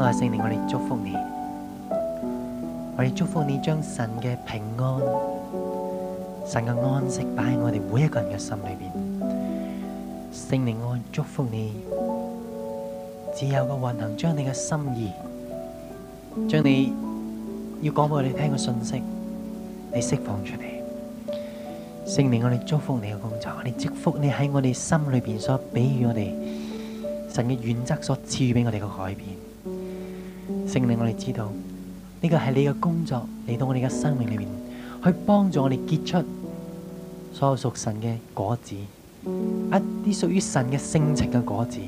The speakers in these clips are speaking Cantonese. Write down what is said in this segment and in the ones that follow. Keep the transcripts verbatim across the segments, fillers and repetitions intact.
愛聖靈，我哋祝福你，我哋祝福你將神嘅平安、神嘅安息擺喺我哋每一個人嘅心裏邊。聖靈，我祝福你，自由嘅運行，將你嘅心意，將你要講俾我哋聽嘅信息，你釋放出嚟。聖靈，我哋祝福你嘅工作，我哋祝福你喺我哋心裏邊所俾予我哋神嘅原則所賜予俾我哋嘅改變。聖靈，我哋知道呢個係你嘅工作嚟到我哋嘅生命裏面，去幫助我哋結出所有屬神嘅果子，一啲屬於神嘅性情嘅果子。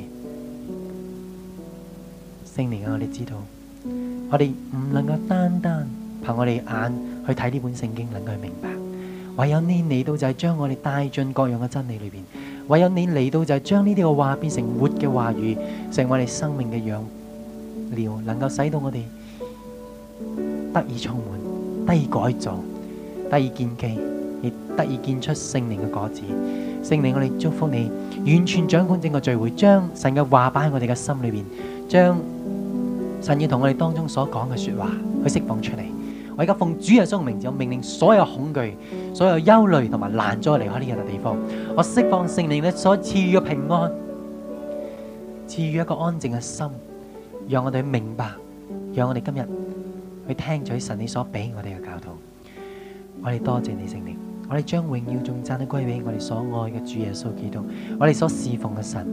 聖靈啊，我哋知道，我哋唔能夠單單憑我哋眼去睇呢本聖經，能夠去明白。唯有你嚟到就係將我哋帶進各樣嘅真理裏邊，唯有你嚟到就係將呢啲嘅話變成活嘅話語，成為我哋生命嘅養料，能夠使到我哋得以充滿，得以改造，得以建基，亦得以見出聖靈嘅果子。聖靈，我哋祝福你，完全掌管整個聚會，將神嘅話擺喺我哋嘅心裏邊，將神要同我哋當中所講嘅說話去釋放出嚟。我而家奉主耶穌嘅名字，我命令所有恐懼、所有憂慮同埋攔阻離開呢個地方。我釋放聖靈咧所賜予嘅平安，賜予一個安靜嘅心，讓我哋明白，讓我哋今日去聽取神你所俾我哋嘅教導。我哋多謝你聖靈，我哋將榮耀頌讚都歸俾我哋所愛嘅主耶穌基督，我哋所侍奉嘅神。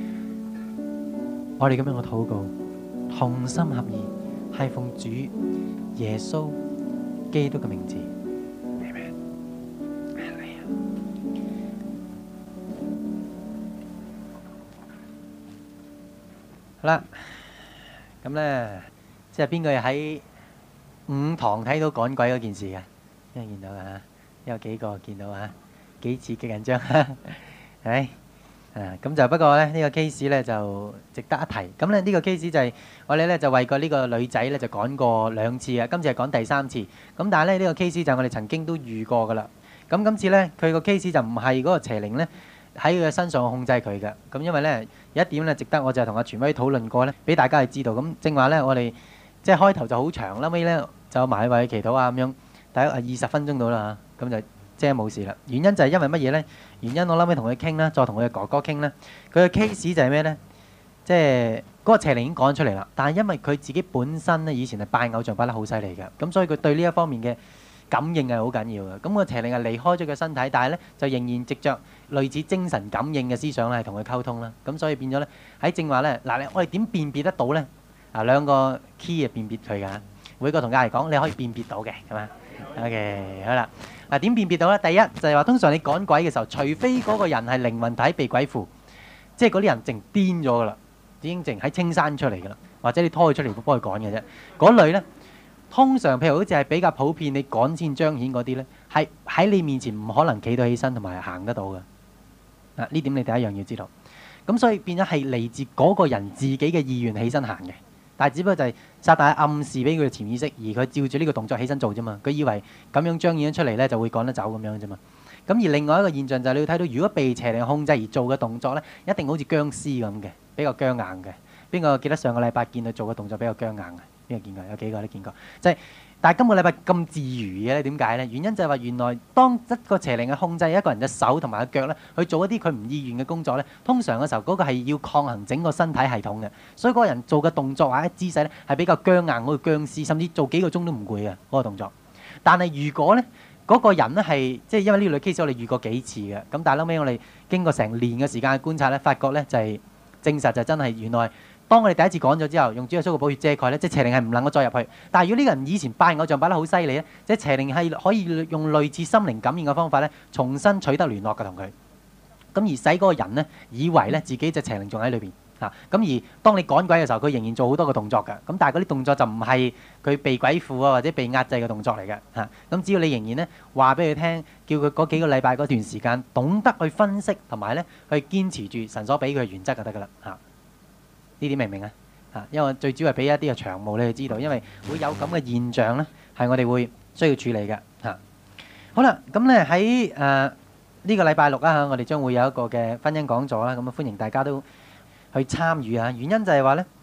我哋咁樣嘅禱告，同心合意，係奉主耶穌基督嘅名字。Amen。好啦，咁咧，即係邊個喺五堂睇到趕鬼嗰件事嘅？因為見到啊，有幾個見到啊，幾刺激緊張，係咪？啊，咁就不過咧，呢個 case 咧就值得一提。咁咧呢個 case 就係我哋咧就為過呢個女仔咧就趕過兩次啊，今次係趕第三次。咁但係咧呢個 case 就我哋曾經都遇過噶啦。咁今次咧佢個 case 就唔係嗰個邪靈咧喺佢嘅身上控制佢嘅。咁因為咧有一點咧值得我就同阿傳威討論過咧，俾大家去知道。咁正話咧我哋即係開頭就好長，後尾咧就埋位祈禱啊咁樣，大約係二十分鐘到啦嚇，咁就即係冇事啦。原因就係因為乜嘢咧？原因我諗起同佢傾啦，再同佢嘅哥哥傾啦。佢嘅 case 就係咩咧？即係嗰個邪靈已經講出嚟啦。但係因為佢自己本身咧以前係拜偶像拜得好犀利嘅，咁所以佢對呢一方面嘅感應係好緊要嘅。咁個邪靈係離開咗佢身體，但係咧就仍然藉著類似精神感應嘅思想咧係同佢溝通啦。咁所以變咗咧喺正話咧嗱，我哋點辨別得到咧？啊兩個 key 啊辨別佢㗎。每個同家嚟講，你可以辨別到嘅，係嘛 ？OK， 好啦。嗱點辨別到咧？第一就係話，通常你趕鬼嘅時候，除非嗰個人係靈魂體被鬼附，即係嗰啲人淨癲咗噶啦，已經淨喺青山出嚟噶啦，或者你拖佢出嚟幫佢趕嘅啫。嗰類咧，通常譬如好似係比較普遍，你趕先彰顯嗰啲咧，係喺你面前唔可能企到起身同埋行得到嘅。啊，呢點你第一樣要知道。咁所以變咗係嚟自嗰個人自己嘅意願起身行嘅。但係只不過就係撒旦暗示俾佢嘅潛意識，而佢照住呢個動作起身做啫嘛。佢以為咁樣彰顯咗出嚟咧，就會趕得走咁樣啫嘛。咁而另外一個現象就係你要睇到，如果被邪靈控制而做嘅動作咧，一定好似僵屍咁嘅，比較僵硬嘅。邊個記得上個禮拜見佢做嘅動作比較僵硬嘅？邊個見過？有幾個都見過。就係、是，但係今個禮拜咁自如嘅咧，點解咧？原因就係話原來當一個邪靈嘅控制一個人嘅手同埋個腳咧，去做一啲佢唔意願嘅工作咧，通常嘅時候嗰個係要抗衡整個身體系統嘅，所以嗰個人做嘅動作或者姿勢咧係比較僵硬，好似僵屍，甚至做幾個鐘都唔攰嘅嗰個動作。但係如果咧嗰個人咧係即係因為呢類 case 我哋遇過幾次嘅，咁但係後尾我哋經過成年嘅時間嘅觀察咧，發覺咧就係證實就真係原來。當我哋第一次趕咗之後，用主耶穌嘅寶血遮蓋咧，即係邪靈係唔能夠再入去。但係如果呢個人以前拜偶像拜得好犀利咧，即係邪靈係可以用類似心靈感應嘅方法咧，重新取得聯絡嘅同佢。咁而使嗰個人咧以為咧自己隻邪靈仲喺裏邊嚇。咁而當你趕鬼嘅時候，佢仍然做好多個動作㗎。咁但係嗰啲動作就唔係佢被鬼附啊或者被壓制嘅動作嚟嘅嚇。咁只要你仍然咧話俾佢聽，叫佢嗰幾個禮拜嗰段時間懂得去分析同埋咧去堅持住神所俾佢嘅原則就得㗎啦嚇。呢啲明唔明啊？嚇，因為我最主要係俾一啲嘅長務你去知道，因為會有咁嘅現象咧，係我哋會需要處理嘅嚇。好啦，咁咧喺誒呢個禮拜六啊嚇，我哋將會有一個嘅婚姻講座啦，咁啊歡迎大家都去參與啊。原因就係話咧，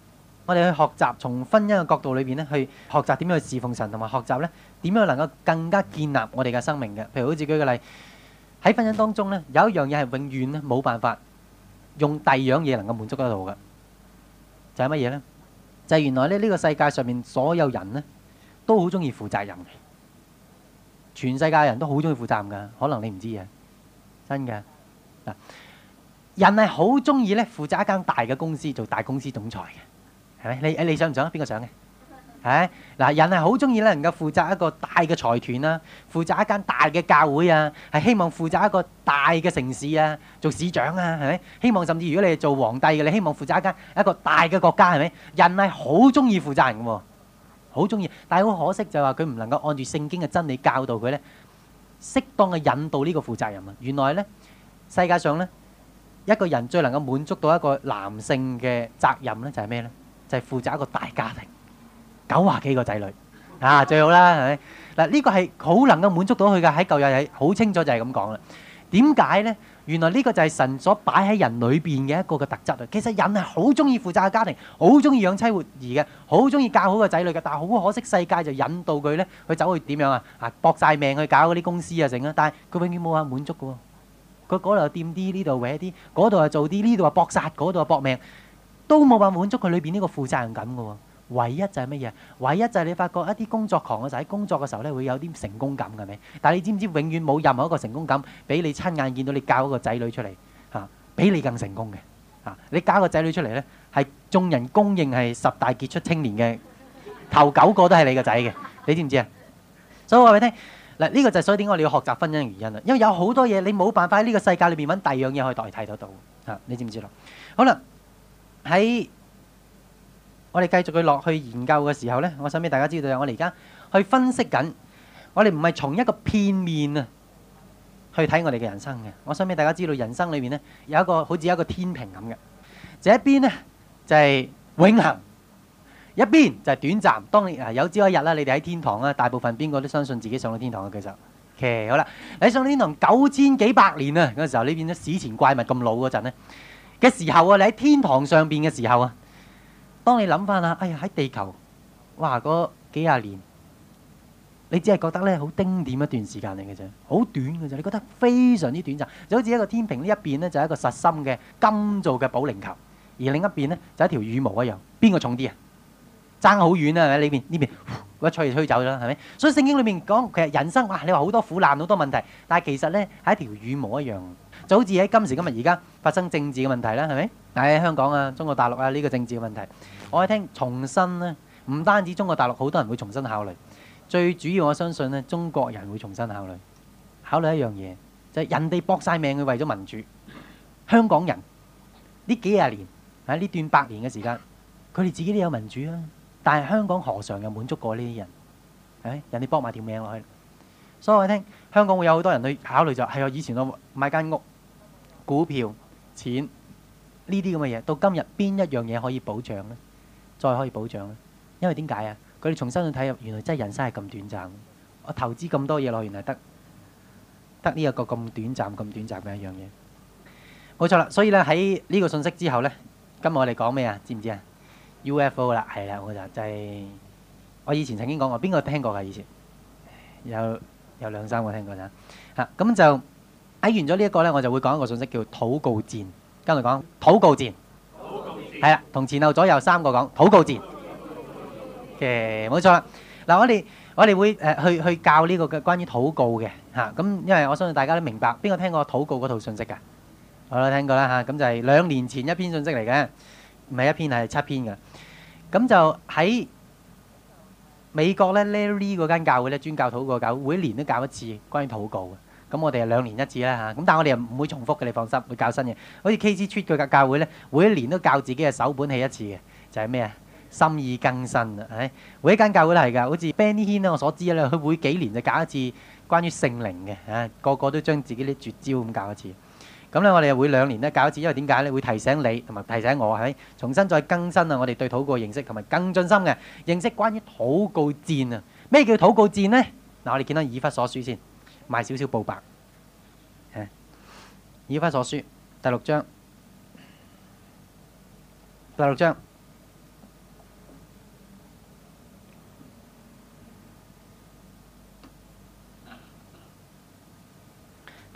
我哋去學習從婚姻嘅角度裏邊咧，去學習點樣去侍奉神，同埋學習咧點樣能夠更加建立我哋嘅生命嘅。譬如好似舉個例，喺婚姻當中咧，有一樣嘢係永遠咧冇辦法用第二樣嘢能夠滿足得到嘅，就係乜嘢咧？就係原來咧呢個世界上面所有人咧都好中意負責任嘅，全世界人都好中意負責任㗎，可能你唔知嘅，真嘅嗱，人係好中意咧負責一間大嘅公司做大公司總裁嘅。係咪？你你想唔想？邊個想嘅？係嗱，人係好中意咧，能夠負責一個大嘅財團啦，負責一間大嘅教會啊，係希望負責一個大嘅城市啊，做市長啊，係咪？希望甚至如果你係做皇帝嘅，你希望負責一間一個大嘅國家，係咪？人係好中意負責任嘅喎，好中意。但係好可惜就係話佢唔能夠按住聖經嘅真理教導佢咧，適當嘅引導呢個負責任啊。原來咧，世界上咧一個人最能夠滿足到一個男性嘅責任咧，就係咩咧？就係負責一個大家庭，九廿幾個仔女啊，最好啦，係咪？嗱，呢個係好能夠滿足到佢嘅，喺舊約係好清楚就係咁講啦。點解咧？原來呢個就係神所擺喺人裏邊嘅一個嘅特質啊。其實人係好中意負責嘅家庭，好中意養妻活兒嘅，好中意教好個仔女嘅。但係好可惜，世界就引導佢咧，去走去點樣啊？啊，搏曬命去搞嗰啲公司啊，成啊！但係佢永遠冇話滿足嘅喎。佢嗰度又掂啲，呢度搲啲，嗰度又做啲，呢度又搏殺，嗰度又搏命。都冇辦法滿足佢裏邊呢個負責任感嘅喎，唯一就係乜嘢？唯一就係你發覺一啲工作狂嘅就喺工作嘅時候咧會有啲成功感嘅咩？但係你知唔知永遠冇任何一個成功感比你親眼見到你教一個仔女出嚟嚇，比你更成功嘅嚇？你教一個仔女出嚟咧，係眾人公認係十大傑出青年嘅頭九個都係你個仔嘅，你知唔知啊？所以我話俾你聽嗱，呢個就係所以點解我哋要學習婚姻嘅原因啦，因為有好多嘢你冇辦法喺呢個世界裏邊揾第二樣嘢可以代替得到嚇，你知唔知咯？好啦。喺我哋繼續去落去研究嘅時候呢，我想俾大家知道，我哋而家去分析緊，我哋唔係從一個片面啊去睇我哋嘅人生嘅。我想俾大家知道，人生裏面呢有一個好似一個天平咁嘅，這一邊呢就係永恆，一邊就係短暫。當你啊有朝一日啦，你哋喺天堂啦，大部分邊個都相信自己上到天堂嘅，其實，OK，好啦，你上到天堂九千幾百年啊嗰陣時候，你變咗史前怪物咁老嗰陣呢嘅時候啊，你喺天堂上邊嘅時候啊，當你諗翻下，哎呀喺地球，哇嗰幾廿年，你只係覺得咧好丁點一段時間嚟嘅啫，好短嘅啫，你覺得非常之短暫，就好似一個天平呢一邊咧就係一個實心嘅金做嘅保齡球，而另一邊咧就係一條羽毛一樣，邊個重啲啊？爭好遠啊！係咪呢邊呢邊一吹就吹走咗啦，係咪？所以聖經裏面講其實人生哇，你話好多苦難好多問題，但係其實咧係一條羽毛一樣。就好似喺今時今日而家發生政治嘅問題啦，係咪？喺香港啊、中國大陸啊呢個政治嘅問題，我哋聽重新咧，唔單止中國大陸好多人會重新考慮，最主要我相信咧，中國人會重新考慮，考慮一樣嘢，就係人哋搏曬命去為咗民主，香港人呢幾廿年喺呢段百年嘅時間，佢哋自己都有民主啊，但係香港何嘗又滿足過呢啲人？係咪？人哋搏埋條命落去，所以我哋聽香港會有好多人去考慮就係我以前我買間屋。股票、錢呢啲咁嘅嘢，到今日邊一樣嘢可以保障呢？再可以保障呢？因為點解啊？佢哋重新去睇入，原來真係人生係咁短暫。我投資咁多嘢落，原來得得呢一個咁短暫、咁短暫嘅一樣嘢。冇錯啦，所以咧喺呢個信息之後呢，今日我哋講咩啊？知唔知啊 ？U F O 啦，係啦，我就就係我以前曾經講過，邊個聽過㗎？以前有有兩三個聽過咋嚇？咁就。睇完咗呢一個咧，我就會講一個信息叫禱告戰。跟住講禱告戰，係啦，同前後左右三個講禱告戰嘅，冇錯啦。嗱，我哋我哋會誒去去教呢個嘅關於禱告嘅嚇。咁因為我相信大家都明白，邊個聽過禱告嗰套信息㗎？我都聽過啦嚇。咁就係兩年前一篇信息嚟嘅，唔係一篇係七篇㗎。咁就喺美國咧 Larry 嗰間教會咧，專教禱告教會，每年都教一次關於禱告嘅。咁我哋係兩年一次啦嚇，咁但係我哋又唔會重複嘅，你放心，會教新嘅。好似 K C Street 佢嘅教會咧，每一年都教自己嘅手本起一次嘅，就係咩啊？心意更新啊，係每一間教會都係㗎。好似 Benny Hinn 咧，我所知咧，佢每幾年就教一次關於聖靈嘅，啊個個都將自己啲絕招咁教一次。咁咧我哋又會兩年咧教一次，因為點解咧？會提醒你同埋提醒我係咪？重新再更新啊！我哋對禱告認識同埋更進深嘅認識關於禱告戰啊！咩叫禱告戰咧？嗱，我哋見到以弗所書先。賣少少報白，誒，以弗所書第六章，第六章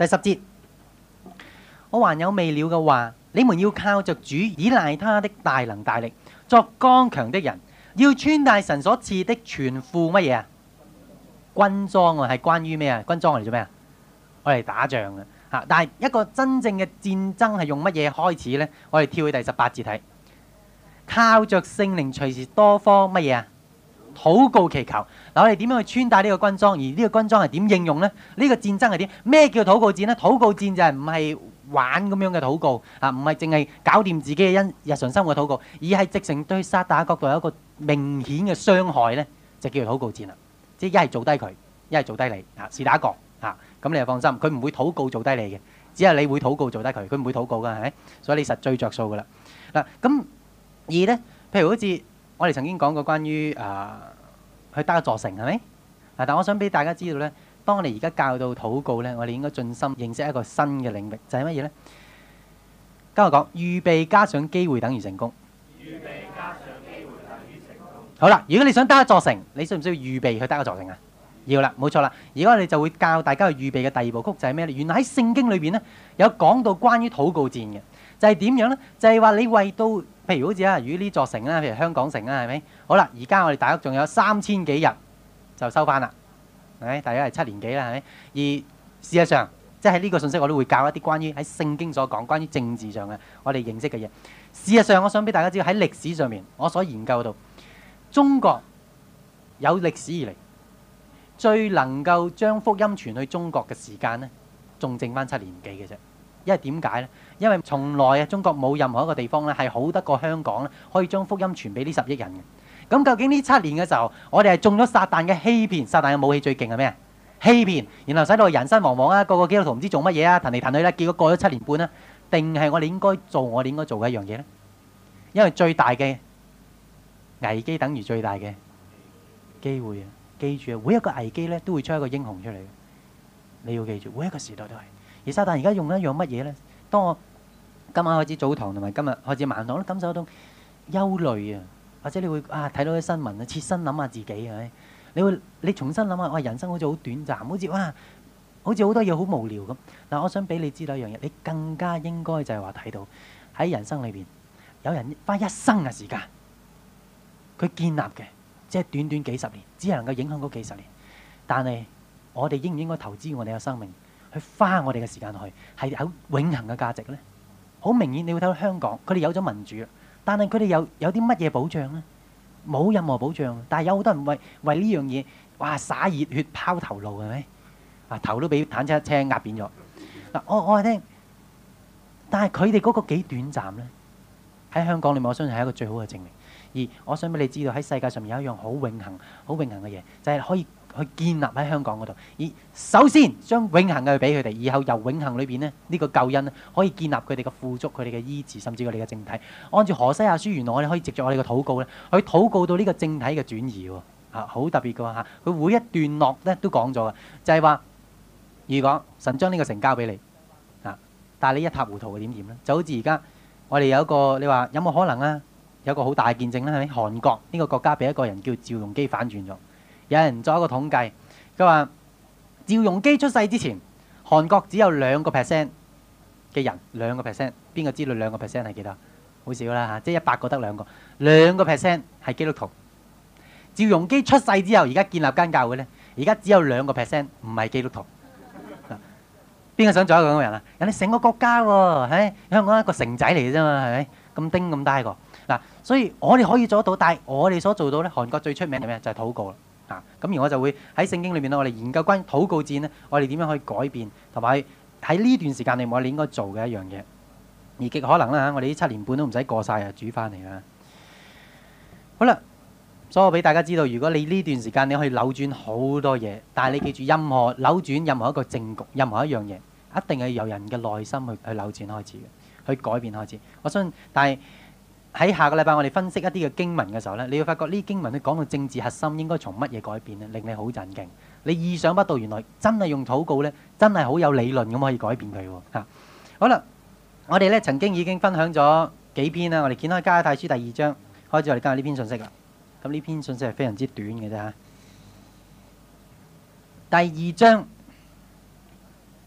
第十節，我還有未了嘅話，你們要靠着主，倚賴他的大能大力，作剛強的人，要穿戴神所賜的全副乜嘢啊？軍裝啊，係關於咩啊？軍裝嚟做咩啊？我嚟打仗嘅嚇。但係一個真正嘅戰爭係用乜嘢開始呢？我哋跳去第十八節睇，靠着聖靈隨時多方乜嘢啊？禱告祈求。嗱，我哋點樣去穿戴呢個軍裝？而呢個軍裝係點應用呢？呢個戰爭係點？咩叫禱告戰呢？禱告戰就係唔係玩咁樣嘅禱告啊，唔係淨係搞掂自己嘅因日常生活嘅禱告，而係直情對撒旦角度有一個明顯嘅傷害呢，就叫做禱告戰啦。即係一係做低佢，一係做低你啊，是打一個啊，咁你就放心，佢唔會禱告做低你嘅，只係你會禱告做低佢，佢唔會禱告㗎，係咪？所以你實最着數㗎啦。嗱，咁而呢，譬如好似我哋曾經講過關於啊去得一座城係咪？啊，但我想俾大家知道呢，當我哋而家教到禱告呢，我哋應該盡心認識一個新嘅領域，就係乜嘢呢？跟我講，預備加上機會等於成功。預備加上機會等於成功。好啦，如果你想得一座城，你需唔需要預備去得一座城啊？要啦，冇錯啦。而家我哋就會教大家去預備嘅第二部曲就係咩呢？原來喺聖經裏邊呢，有講到關於禱告戰嘅，就係點樣呢？就係話你為到，譬如好似啊，如果呢座城啦，譬如香港城啦，係咪？好啦，而家我哋大約仲有三千幾日就收翻啦，係咪？大約係七年幾啦，係咪？而事實上，即係呢個信息我都會教一啲關於喺聖經所講關於政治上嘅我哋認識嘅嘢。事實上，我想俾大家知道喺歷史上面，我所研究到中國有歷史以嚟最能夠將福音傳去中國嘅時間呢，仲剩翻七年幾嘅啫。因為點解呢？因為從來啊，中國冇任何一個地方咧係好得過香港咧，可以將福音傳俾呢十億人嘅。咁究竟呢七年嘅時候，我哋係中咗撒旦嘅欺騙，撒旦嘅武器最勁係咩啊？欺騙，然後使到人心惶惶啊，個個基督徒唔知做乜嘢啊，騰嚟騰去啦，結果過咗七年半啦，定係我哋應該做我哋應該做嘅一樣嘢呢？因為最大嘅危機等於最大嘅機會啊！記住啊，每一個危機咧都會出一個英雄出嚟嘅，你要記住，每一個時代都係。而撒旦而家用一樣乜嘢咧？當我今晚開始早堂同埋今日開始晚堂，都感受到憂慮啊，或者你會啊睇到啲新聞啊，切身諗下自己係咪？你會你重新諗下，哇！人生好似好短暫，好似哇，好似好多嘢好無聊咁。嗱，我想俾你知道一樣嘢，你更加應該就係話睇到喺人生裏邊有人花一生嘅時間，佢建立嘅即係短短幾十年，只係能夠影響嗰幾十年。但係我哋應唔應該投資我哋嘅生命去花我哋嘅時間落去，係有永恆嘅價值呢？好明顯，你會睇到香港，佢哋有咗民主，但係佢哋有有啲乜嘢保障呢？冇任何保障，但係有好多人為為呢樣嘢，哇！灑熱血拋頭顱係咪？啊，頭都俾坦克車壓扁咗。嗱，我我係聽，但係佢哋嗰個幾短暫呢？喺香港裏面，我相信係一個最好嘅證明。而我想俾你知道，喺世界上面有一樣好永恆、好永恆嘅嘢，就係可以去建立喺香港嗰度。而首先將永恆嘅去俾佢哋，以後由永恆裏邊呢，呢個救恩呢，可以建立佢哋嘅富足、佢哋嘅醫治，甚至佢哋嘅政體。按照何西阿書，原來我哋可以藉著我哋嘅禱告咧，去禱告到呢個政體嘅轉移喎。啊，好特別嘅喎嚇，佢每一段落咧都講咗嘅，就係話如果神將呢個城交俾你啊，但係你一塌糊塗嘅點點咧？就好似而家我哋有一個，你話有冇可能啊？有個好大嘅見證咧，係咪？韓國呢個國家俾一個人叫趙鏞基反轉咗。有人做一個統計，佢話趙鏞基出世之前，韓國只有兩個 percent 嘅人，兩個 percent， 邊個知道兩個 percent 係幾多？好少啦嚇，即係一百個得兩個，兩個 percent 係基督徒。趙鏞基出世之後，而家建立間教會咧，而家只有兩個 percent 唔係基督徒。邊個想做一個咁嘅人啊？人哋成個國家喎，係香港一個城仔嚟嘅啫嘛，係咪？咁丁咁大個嗱，所以我哋可以做得到，但係我哋所做到咧，韓國最出名係咩？就係禱告啦。啊，咁而我就會喺聖經裏面咧，我哋研究關於禱告戰咧，我哋點樣可以改變，同埋喺呢段時間裏面我哋應該做嘅一樣嘢。而極可能啦嚇，我哋呢七年半都唔使過曬啊，煮翻嚟啦。好啦。所以我俾大家知道，如果你呢段時間你可以扭轉好多嘢，但係你記住，任何扭轉任何一個政局，任何一樣嘢，一定係由人嘅內心去去扭轉開始嘅，去改變開始。我相信，但係喺下個禮拜我哋分析一啲嘅經文嘅時候呢，你會發覺呢啲經文咧講到政治核心應該從乜嘢改變呢？令你好震驚。你意想不到，原來真係用禱告呢，真係好有理論咁可以改變佢喎嚇。好啦，我哋呢曾經已經分享咗幾篇啦，我哋掀開《加拉太書》第二章，開始我哋今日呢篇信息啦。咁呢篇信息係非常之短嘅啫嚇。第二章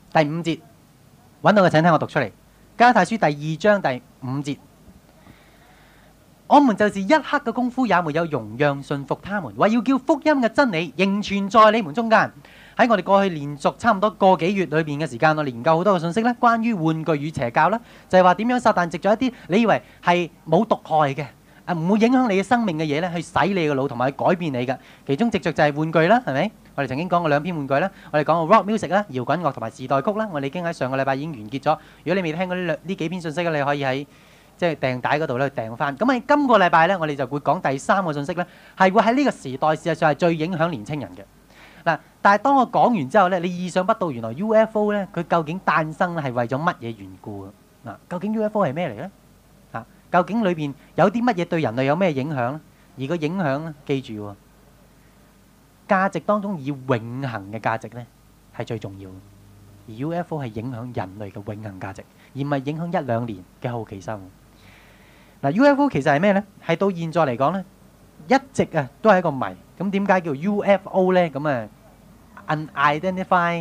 第五節，揾到嘅請聽我讀出嚟。加拉太書第二章第五節，我們就是一刻嘅功夫也沒有容讓順服他們，為要叫福音嘅真理仍存在你們中間。喺我哋過去連續差唔多個幾月裏邊嘅時間，我研究好多嘅信息咧，關於玩具與邪教啦，就係話點樣撒旦藉咗一啲你以為係冇毒害嘅，啊唔會影響你嘅生命嘅嘢咧，去洗你嘅腦同埋去改變你嘅。其中藉著就係玩具啦，係咪？我哋曾經講過兩篇玩具啦，我哋講過 rock music 啦、搖滾樂同埋時代曲啦，我哋已經喺上個禮拜已經完結咗。如果你未聽過呢兩呢幾篇信息咧，你可以喺即係訂帶嗰度咧訂翻。咁喺今個禮拜咧，我哋就會講第三個信息咧，係會喺呢個時代事實上係最影響年青人嘅。嗱，但係當我講完之後咧，你意想不到，原來 U F O 咧佢究竟誕生咧係為咗乜嘢緣故啊？嗱，究竟 U F O 係咩嚟咧？啊，究竟裏邊有啲乜嘢對人類有咩影響咧？而個影響咧，記住喎，價值當中以永恆嘅價值咧係最重要嘅。而 U F O 係影響人類嘅永恆價值，而唔係影響一兩年嘅好奇心。嗱，U F O 其實係咩咧？係到現在嚟講咧，一直啊都係一個謎。咁點解叫 U F O 咧？咁啊 unidentified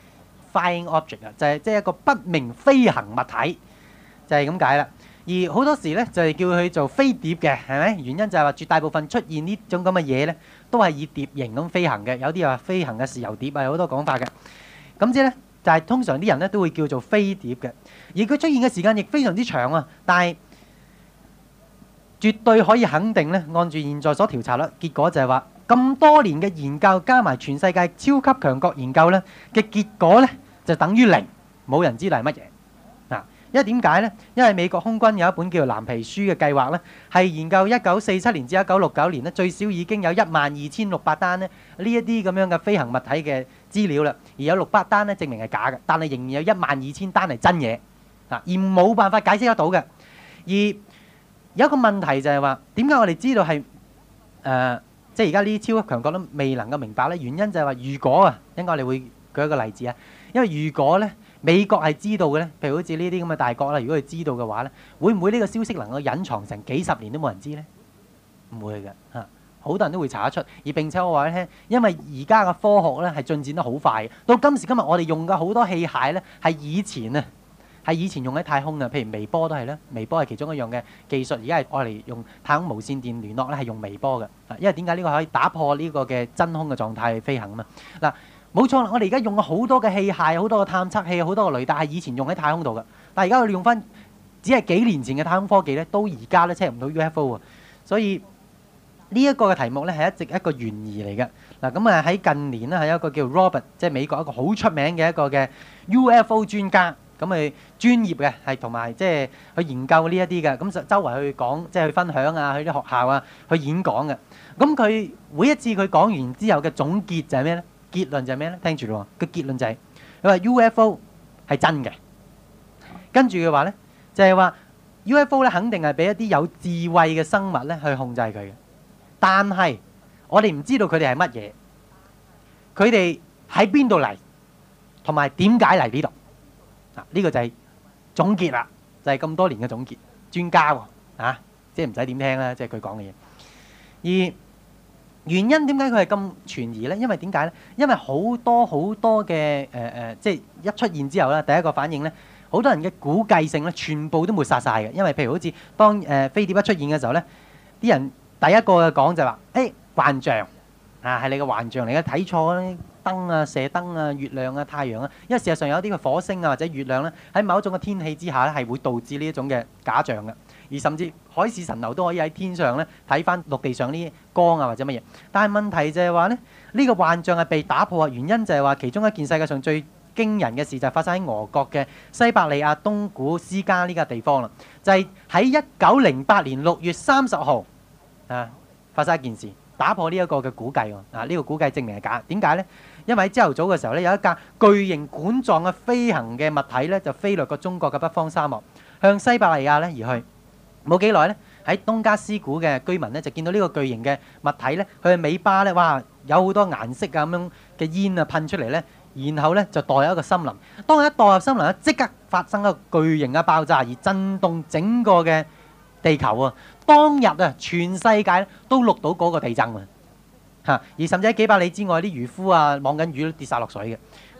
flying object 啊，就係即係一個不明飛行物體，就係咁解啦。而好多時咧就係叫佢做飛碟嘅，係咪？原因就係話絕大部分出現呢種咁嘅嘢咧，都係以碟形咁飛行嘅。有啲話飛行嘅豉油碟啊，有好多講法嘅。咁之咧就係通常啲人咧都會叫做飛碟嘅。而佢出現嘅時間亦非常之長啊，但係絕對可以肯定咧，按住現在所調查啦，結果就係話咁多年嘅研究加埋全世界超級強國研究咧嘅結果咧，就等於零，冇人知係乜嘢嗱。因為點解咧？因為美國空軍有一本叫做藍皮書嘅計劃咧，係研究一九四七年至一九六九年咧，最少已經有一萬二千六百單咧呢一啲咁樣嘅飛行物體嘅資料啦，而有六百單咧證明係假嘅，但係仍然有一萬二千單係真嘢嗱，而冇辦法解釋得到嘅。而有一個問題就係話，點解我哋知道係誒、呃，即係而家呢啲超級強國都未能夠明白咧？原因就係話，如果啊，應該我哋會舉一個例子啊，因為如果咧美國係知道嘅咧，譬如好似呢啲咁嘅大國啦，如果佢知道嘅話咧，會唔會呢個消息能夠隱藏成幾十年都冇人知咧？唔會嘅嚇，好多人都會查得出。而並且我話你聽，因為而家嘅科學咧係進展得好快，到今時今日我哋用嘅好多器械咧係以前啊。係以前用喺太空嘅，譬如微波都係啦，微波係其中一樣嘅技術。而家係愛嚟用太空無線電聯絡咧，係用微波嘅。啊，因為點解呢個可以打破呢個嘅真空嘅狀態去飛行啊嘛？嗱，冇錯啦，我哋而家用咗好多嘅器械，好多嘅探測器，好多嘅雷達係以前用喺太空度嘅。但係而家我哋用翻只係幾年前嘅太空科技咧，都而家咧測唔到 U F O 啊。所以呢一個嘅題目咧係一直一個懸疑嚟嘅。嗱，咁啊喺近年咧係一個叫 Robert，即係美國一個好出名嘅一個嘅 U F O 專家。咁佢專業嘅係同埋即係去研究呢一啲嘅，咁就周圍去講，即係去分享啊，去啲學校啊，去演講嘅。咁佢每一次佢講完之後嘅總結就係咩咧？結論就係咩咧？聽住咯，個結論就係佢話 U F O 係真嘅。跟住嘅話咧，就係話 U F O 咧肯定係俾一啲有智慧嘅生物咧去控制佢嘅，但係我哋唔知道佢哋係乜嘢，佢哋喺邊度嚟，同埋點解嚟呢度。嗱，呢個就係總結啦，就係咁多年嘅總結。專家喎，啊，即係唔使點聽啦，即係佢講嘅嘢。而原因點解佢係咁存疑咧？因為點解咧？因為好多好多嘅誒誒，即係一出現之後咧，第一個反應咧，好多人嘅估計性咧，全部都抹殺晒嘅。因為譬如好似當誒飛碟一出現嘅時候咧，啲人第一個嘅講就話：誒幻象啊，係你嘅幻象嚟嘅，睇錯咧。燈啊、射燈啊、月亮啊、太陽啊，因為事實上有啲嘅火星啊或者月亮咧，喺某一種嘅天氣之下咧，係會導致呢一種嘅假象嘅，而甚至海市蜃樓都可以喺天上咧睇翻陸地上呢啲光啊或者乜嘢。但係問題就係話咧，呢個幻象係被打破嘅原因就係話，其中一件世界上最驚人嘅事就係發生喺俄國嘅西伯利亞東古斯加呢個地方啦，就係喺一九零八年六月三十號啊發生一件事，打破呢一個嘅估計喎。啊，呢個估計證明係假，點解咧？因為喺朝頭早嘅時候咧，有一架巨型管狀嘅飛行嘅物體咧，就飛掠過中國嘅北方沙漠，向西伯利亞咧而去。冇幾耐咧，喺東加斯古嘅居民咧就見到呢個巨型嘅物體咧，佢嘅尾巴咧，哇，有好多顏色啊咁樣嘅煙啊噴出嚟咧，然後咧就墮入一個森林。當佢一墮入森林咧，即刻發生一個巨型嘅爆炸，而震動整個嘅地球啊！當日啊，全世界都錄到嗰個地震啊！嚇！而甚至喺幾百里之外，啲漁夫啊，網緊魚都跌晒落水嘅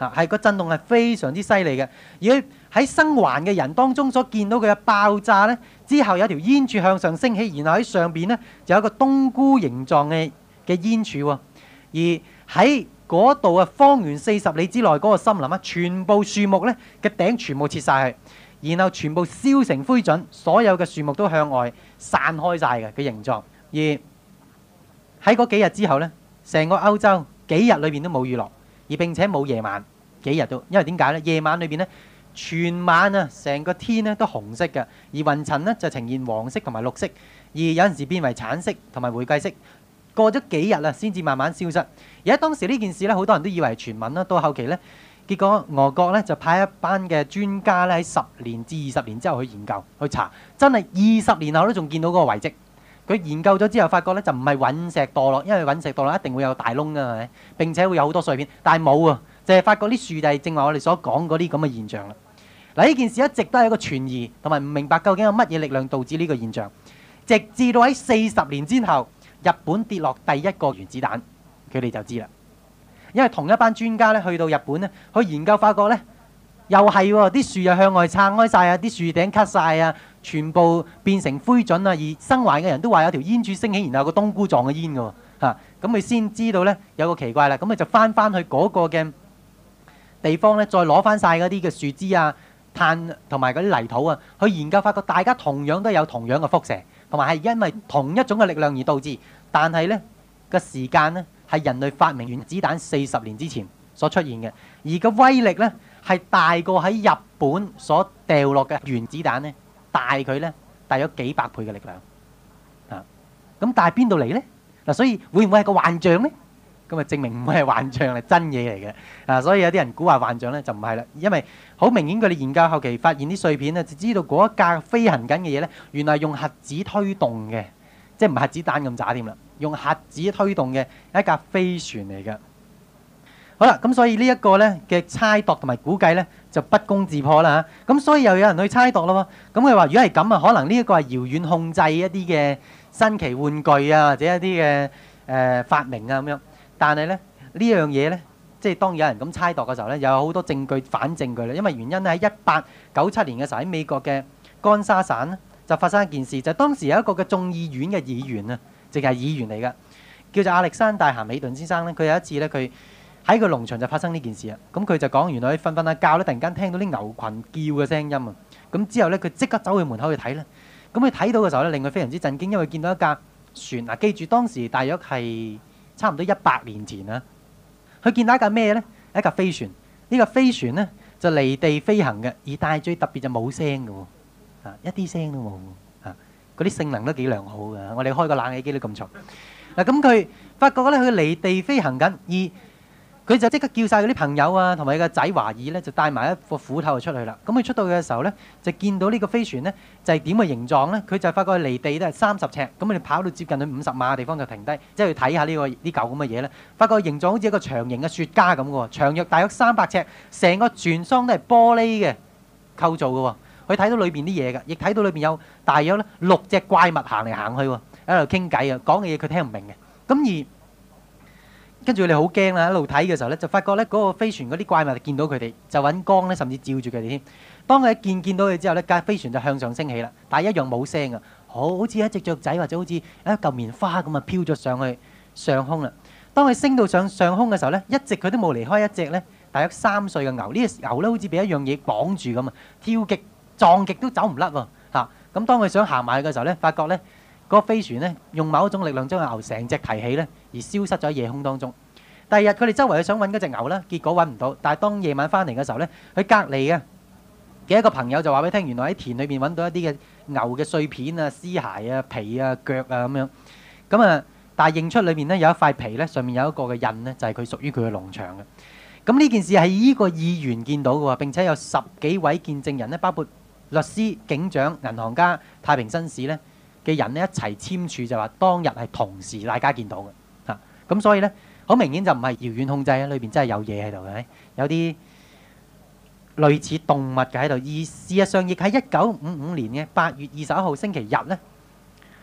嚇，係個震動係非常之犀利嘅。而佢喺生還嘅人當中所見到佢嘅爆炸咧，之後有條煙柱向上升起，然後喺上邊咧就有一個冬菇形狀嘅嘅煙柱喎。而喺嗰度啊，方圓四十里之內嗰個森林啊，全部樹木咧嘅頂全部切晒去，然後全部燒成灰燼，所有嘅樹木都向外散開晒嘅嘅形狀。而喺嗰幾日之後咧，成個歐洲幾日裏邊都冇雨落，而並且冇夜晚，幾日都，因為點解咧？夜晚裏邊咧，全晚啊，成個天咧都紅色嘅，而雲層咧就呈現黃色同埋綠色，而有陣時變為橙色同埋玫瑰色。過咗幾日啦，先至慢慢消失。而喺當時呢件事咧，好多人都以為係傳聞啦。到後期咧，結果俄國咧就派一班嘅專家咧喺十年至二十年之後去研究去查，真係二十年後都仲見到嗰個遺跡。佢研究咗之後，發覺咧就唔係隕石墮落，因為隕石墮落一定會有大窿㗎，係咪？並且會有好多碎片，但係冇啊，就係發覺啲樹就係正話我哋所講嗰啲咁嘅現象啦。嗱，呢件事一直都係一個傳疑，同埋唔明白究竟有乜嘢力量導致呢個現象，直至到喺四十年之後。日本跌落第一個原子彈，佢哋就知啦。因為同一班專家咧去到日本咧，去研究發覺咧，又係喎，啲樹又向外撐開晒啊，啲樹頂咳晒啊，全部變成灰燼啊。而生還嘅人都話有條煙柱升起，然後有個冬菇狀嘅煙嘅喎嚇，咁佢先知道咧有個奇怪啦。咁佢就翻翻去嗰個嘅地方咧，再攞翻晒嗰啲嘅樹枝啊、炭同埋嗰啲泥土啊，去研究發覺大家同樣都有同樣嘅輻射。同埋係因為同一種嘅力量而導致，但係呢個時間呢係人類發明原子彈四十年之前所出現嘅，而個威力呢係大過喺日本所掉落嘅原子彈呢，大佢呢大咗幾百倍嘅力量啊！咁但係邊度嚟呢？嗱，所以會唔會係個幻象呢？咁啊證明唔會係幻象，係真嘢嚟嘅啊！所以有啲人估話幻象呢就唔係啦，因為好明顯佢哋研究後期發現啲碎片呢，就知道嗰一架飛行緊嘅嘢呢，原來係用核子推動嘅，即係唔係核子彈咁渣添啦，用核子推動嘅一架飛船嚟嘅。好啦，咁所以呢一個呢嘅猜度同埋估計呢，就不攻自破啦嚇。咁所以又有人去猜度咯喎。咁佢話如果係咁啊，可能呢一個係遙遠控制一啲嘅新奇玩具啊，或者一啲嘅誒發明啊咁樣。但係咧呢樣嘢咧，即係當有人咁猜度嘅時候咧，又有好多證據反證據啦。因為原因喺一八九七年嘅時候喺美國嘅干沙省咧，就發生一件事，就係當時有一個嘅眾議院嘅議員啊，淨係議員嚟㗎，叫做亞歷山大咸美頓先生咧。佢有一次咧，佢喺個農場就發生呢件事啊。咁佢就講原來佢瞓瞓下覺咧，突然間聽到啲牛群叫嘅聲音啊。咁之後咧，佢即刻走去門口去睇咧。咁佢睇到嘅時候咧，令佢非常之震驚，因為見到一架船啊。記住當時大約係差唔多一百年前啊，佢見到一架咩呢？一架飛船。呢架飛船呢就離地飛行嘅，而但係最特別就冇聲嘅喎，啊一啲聲都冇，啊嗰啲性能都幾良好嘅。我哋開個冷氣機都咁嘈。嗱咁佢發覺咧，佢離地飛行緊，而佢就即刻叫晒嗰啲朋友啊，同埋個仔華爾咧，就帶埋一個斧頭就出去啦。咁佢出到嘅時候咧，就見到呢個飛船咧就係點嘅形狀咧？佢就發覺離地都係三十尺，咁佢哋跑到接近去五十碼嘅地方就停低，即係去睇下呢個呢嚿咁嘅嘢咧。發覺形狀好似一個長形嘅雪茄咁嘅喎，長約大約三百尺，成個船艙都係玻璃嘅構造嘅喎。佢睇到裏邊啲嘢嘅，亦睇到裏邊有大約咧六隻怪物行嚟行去喎，喺度傾偈啊，講嘅嘢佢聽唔明嘅。咁而跟住佢哋好驚啦，一路睇嘅時候咧，就發覺咧嗰個飛船嗰啲怪物見到佢哋，就揾光咧，甚至照住佢哋添。當佢一見見到佢之後咧，架飛船就向上升起啦，但係一樣冇聲啊，好好似一隻雀仔或者好似一嚿棉花咁啊，飄咗上去上空啦。當佢升到上上空嘅時候咧，一直佢都冇離開一隻咧，大約三歲嘅牛。呢隻牛咧好似俾一樣嘢綁住咁啊，跳極撞極都走唔甩喎嚇。咁當佢想行埋去嘅時候咧，發覺咧嗰個飛船咧用某一種力量將個牛成隻提起咧，而消失咗喺夜空當中。第二日佢哋周圍去想揾嗰隻牛啦，結果揾唔到。但係當夜晚翻嚟嘅時候咧，佢隔離嘅嘅一個朋友就話俾佢聽，原來喺田裏邊揾到一啲嘅牛嘅碎片啊、屍骸啊、皮啊、腳啊咁樣。咁啊，但係認出裏面咧有一塊皮咧，上面有一個嘅印咧，就係佢屬於佢嘅農場嘅。咁呢件事係呢個議員見到嘅喎，並且有十幾位見證人咧，包括律師、警長、銀行家、太平紳士咧嘅人咧一齊簽署，就話當日係同時大家見到嘅嚇。咁所以咧。好明顯就唔係遙遠控制啊！裏邊真係有嘢喺度嘅，有啲類似動物嘅喺度。而事實上亦喺一九五五年嘅八月二十一號星期日咧，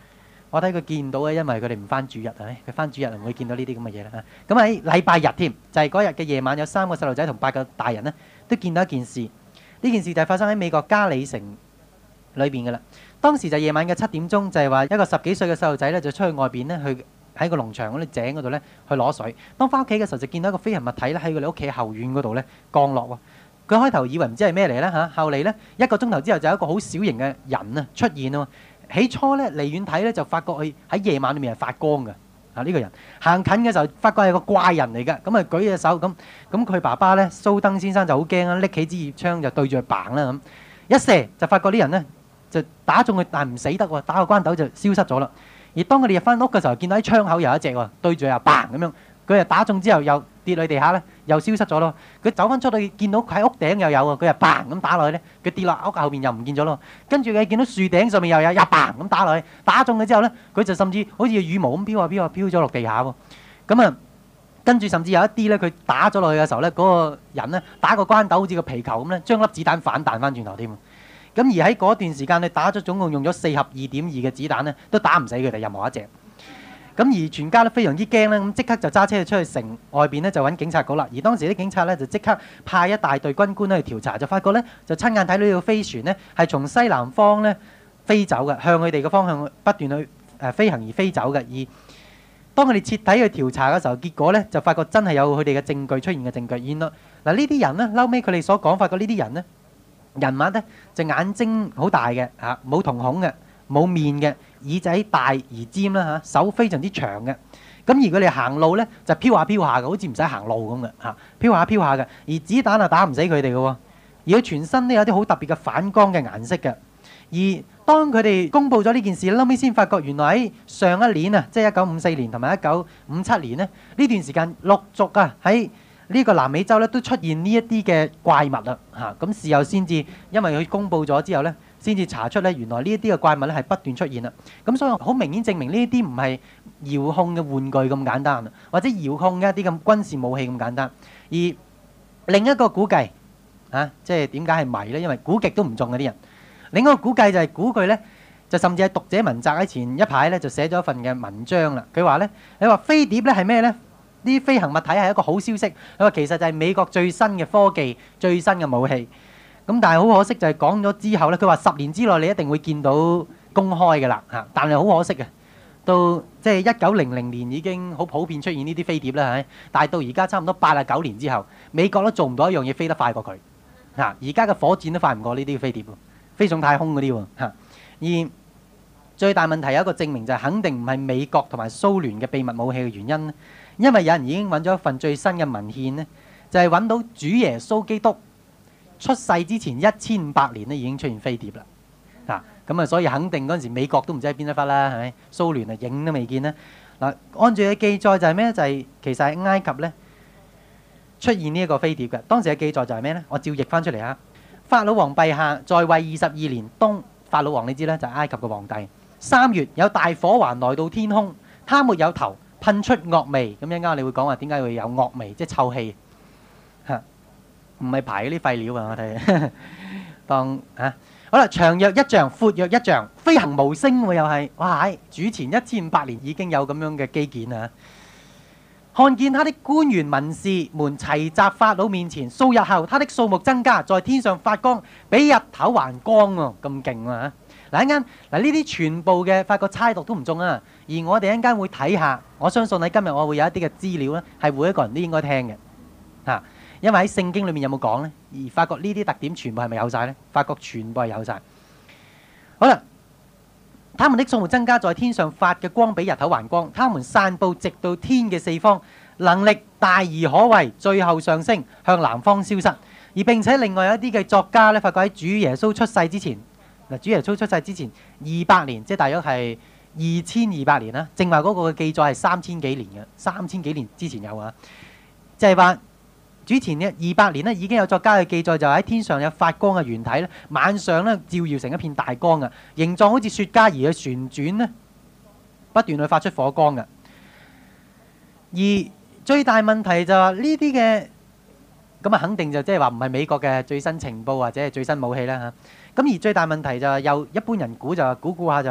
我睇佢見到嘅，因為佢哋唔翻主日，係咪？佢翻主日唔會見到呢啲咁嘅嘢啦。咁喺禮拜日添，就係嗰日嘅夜晚，有三個細路仔同八個大人呢，都見到一件事。呢件事就係發生喺美國加里城裏邊嘅啦。當時就夜晚嘅七點鐘，就係話一個十幾歲嘅細路仔咧，就出去外邊咧，去喺個農場嗰啲井嗰度咧去攞水。當翻屋企嘅時候，就見到一個飛行物體咧喺佢哋屋企後院嗰度咧降落喎。佢開頭以為唔知係咩嚟咧嚇，後嚟咧一個鐘頭之後就有一個好小型嘅人啊出現啊。起初咧離遠睇咧就發覺佢喺夜晚裏面係發光嘅啊！呢個人行近嘅時候發覺係個怪人嚟㗎，咁啊舉隻手咁，咁佢爸爸咧蘇登先生就好驚啦，拎起支葉槍就對住佢嘭啦咁，一射就發覺啲人咧就打中佢，但係唔死得喎，打個關鬥就消失咗啦。而當佢哋入翻屋嘅時候，見到喺窗口有一隻喎，對住又嘭咁樣，佢又打中之後又跌落地下咧，又消失咗咯。佢走翻出去見到佢喺屋頂又有喎，佢又嘭咁打落去咧，佢跌落屋後邊又唔見咗咯。跟住佢見到樹頂上面又有，又嘭咁打落去，打中佢之後咧，佢就甚至好似羽毛咁飄下飄下飄咗落地下喎。咁啊，跟住甚至有一啲咧，佢打咗落去嘅時候咧，嗰個人咧打個關鬥好似個皮球咁咧，將粒子彈反彈翻轉頭添。咁而喺嗰段時間，你打咗總共用咗四盒二點二嘅子彈咧，都打唔死佢哋任何一隻。咁而全家都非常之驚咧，咁即刻就揸車出去城外邊咧，就揾警察局啦。而當時啲警察咧就即刻派一大隊軍官咧去調查，就發覺咧就親眼睇到呢個飛船咧係從西南方咧飛走嘅，向佢哋嘅方向不斷去誒飛行而飛走嘅。而當佢哋徹底去調查嘅時候，結果咧就發覺真係有佢哋嘅證據出現嘅證據。原來嗱呢啲人咧，後尾佢哋所講發覺呢啲人咧人物咧就眼睛好大嘅嚇，冇瞳孔嘅，冇面嘅。耳仔大而尖啦嚇，手非常之長嘅。咁而佢哋行路咧就飄下飄下嘅，好似唔使行路咁嘅嚇，飄下飄下嘅。而子彈啊打唔死佢哋嘅喎，而佢全身都有啲好特別嘅反光嘅顏色嘅。而當佢哋公佈咗呢件事，後尾先發覺原來喺上一年啊，即係一九五四年同埋一九五七年咧，呢段時間陸續啊喺呢個南美洲咧都出現呢一啲嘅怪物啦嚇。咁事後先至因為佢公佈咗之後咧，先至查出咧，原來呢一啲嘅怪物咧係不斷出現啦。咁所以好明顯證明呢一啲唔係遙控嘅玩具咁簡單啊，或者遙控嘅一啲咁軍事武器咁簡單。而另一個估計啊，即係點解係謎咧？因為估極都唔中嗰啲人。另一個估計就係估佢咧，就甚至係讀者文摘喺前一排咧就寫咗一份嘅文章啦。佢話咧，你話飛碟咧係咩咧？呢啲飛行物體係一個好消息。佢話其實就係美國最新嘅科技、最新嘅武器。咁但係好可惜就係講咗之後咧，佢話十年之內你一定會見到公開嘅啦嚇。但係好可惜嘅，到即係一九零零年已經好普遍出現呢啲飛碟啦，係咪？但係到而家差唔多八啊九年之後，美國都做唔到一樣嘢飛得快過佢嚇。而家嘅火箭都快唔過呢啲飛碟喎，飛上太空嗰啲喎嚇。而最大問題有一個證明就係肯定唔係美國同埋蘇聯嘅秘密武器嘅原因，因為有人已經揾咗一份最新嘅文獻咧，就係揾到主耶穌基督出世之前一千五百年咧已經出現飛碟啦，嗱咁啊，所以肯定嗰陣時美國都唔知喺邊一忽啦，係咪？蘇聯啊影都未見啦。嗱，按住嘅記載就係咩？就係其實喺埃及咧出現呢一個飛碟嘅。當時嘅記載就係咩咧？我照譯翻出嚟嚇。法老王陛下在位二十二年冬，法老王你知咧就係埃及嘅皇帝。三月有大火環來到天空，他沒有頭，噴出惡味。咁一陣間你會講話點解會有惡味，即係臭氣嚇。唔係排嗰啲廢料啊！我睇當啊，好啦，長約一丈，闊約一丈，飛行無聲喎，又係哇！主前一千五百年已經有咁樣嘅基建啊！看見他的官員文士們齊集法老面前，數日後他的數目增加，在天上發光，比日頭還光喎，咁勁啊！嗱一陣間嗱呢啲全部嘅發覺猜度都唔中啊！而我哋一陣間會睇下，我相信喺今日我會有一啲嘅資料咧，係每一個人都應該聽嘅嚇。因為喺聖經裏面有冇講呢？而發覺呢啲特點全部係咪有晒呢？發覺全部係有晒。好啦，他們的數目增加，在天上發嘅光比日頭還光，他們散佈直到天嘅四方，能力大而可畏，最後上升向南方消失。而並且另外有一啲嘅作家咧，發覺喺主耶穌出世之前，嗱主耶穌出世之前二百年，即係大約係二千二百年啦。正話嗰個嘅記載係三千幾年嘅，三千幾年之前有啊，即係話。主前呢二百年咧已經有作家嘅記載，就喺天上有發光嘅圓體咧，晚上咧照耀成一片大光嘅，形狀好似雪茄而去旋轉咧，不斷去發出火光嘅。而最大問題就係呢啲嘅咁啊，肯定就即係話唔係美國嘅最新情報或者係最新武器啦嚇。咁而最大問題就係有一般人估就估估下就話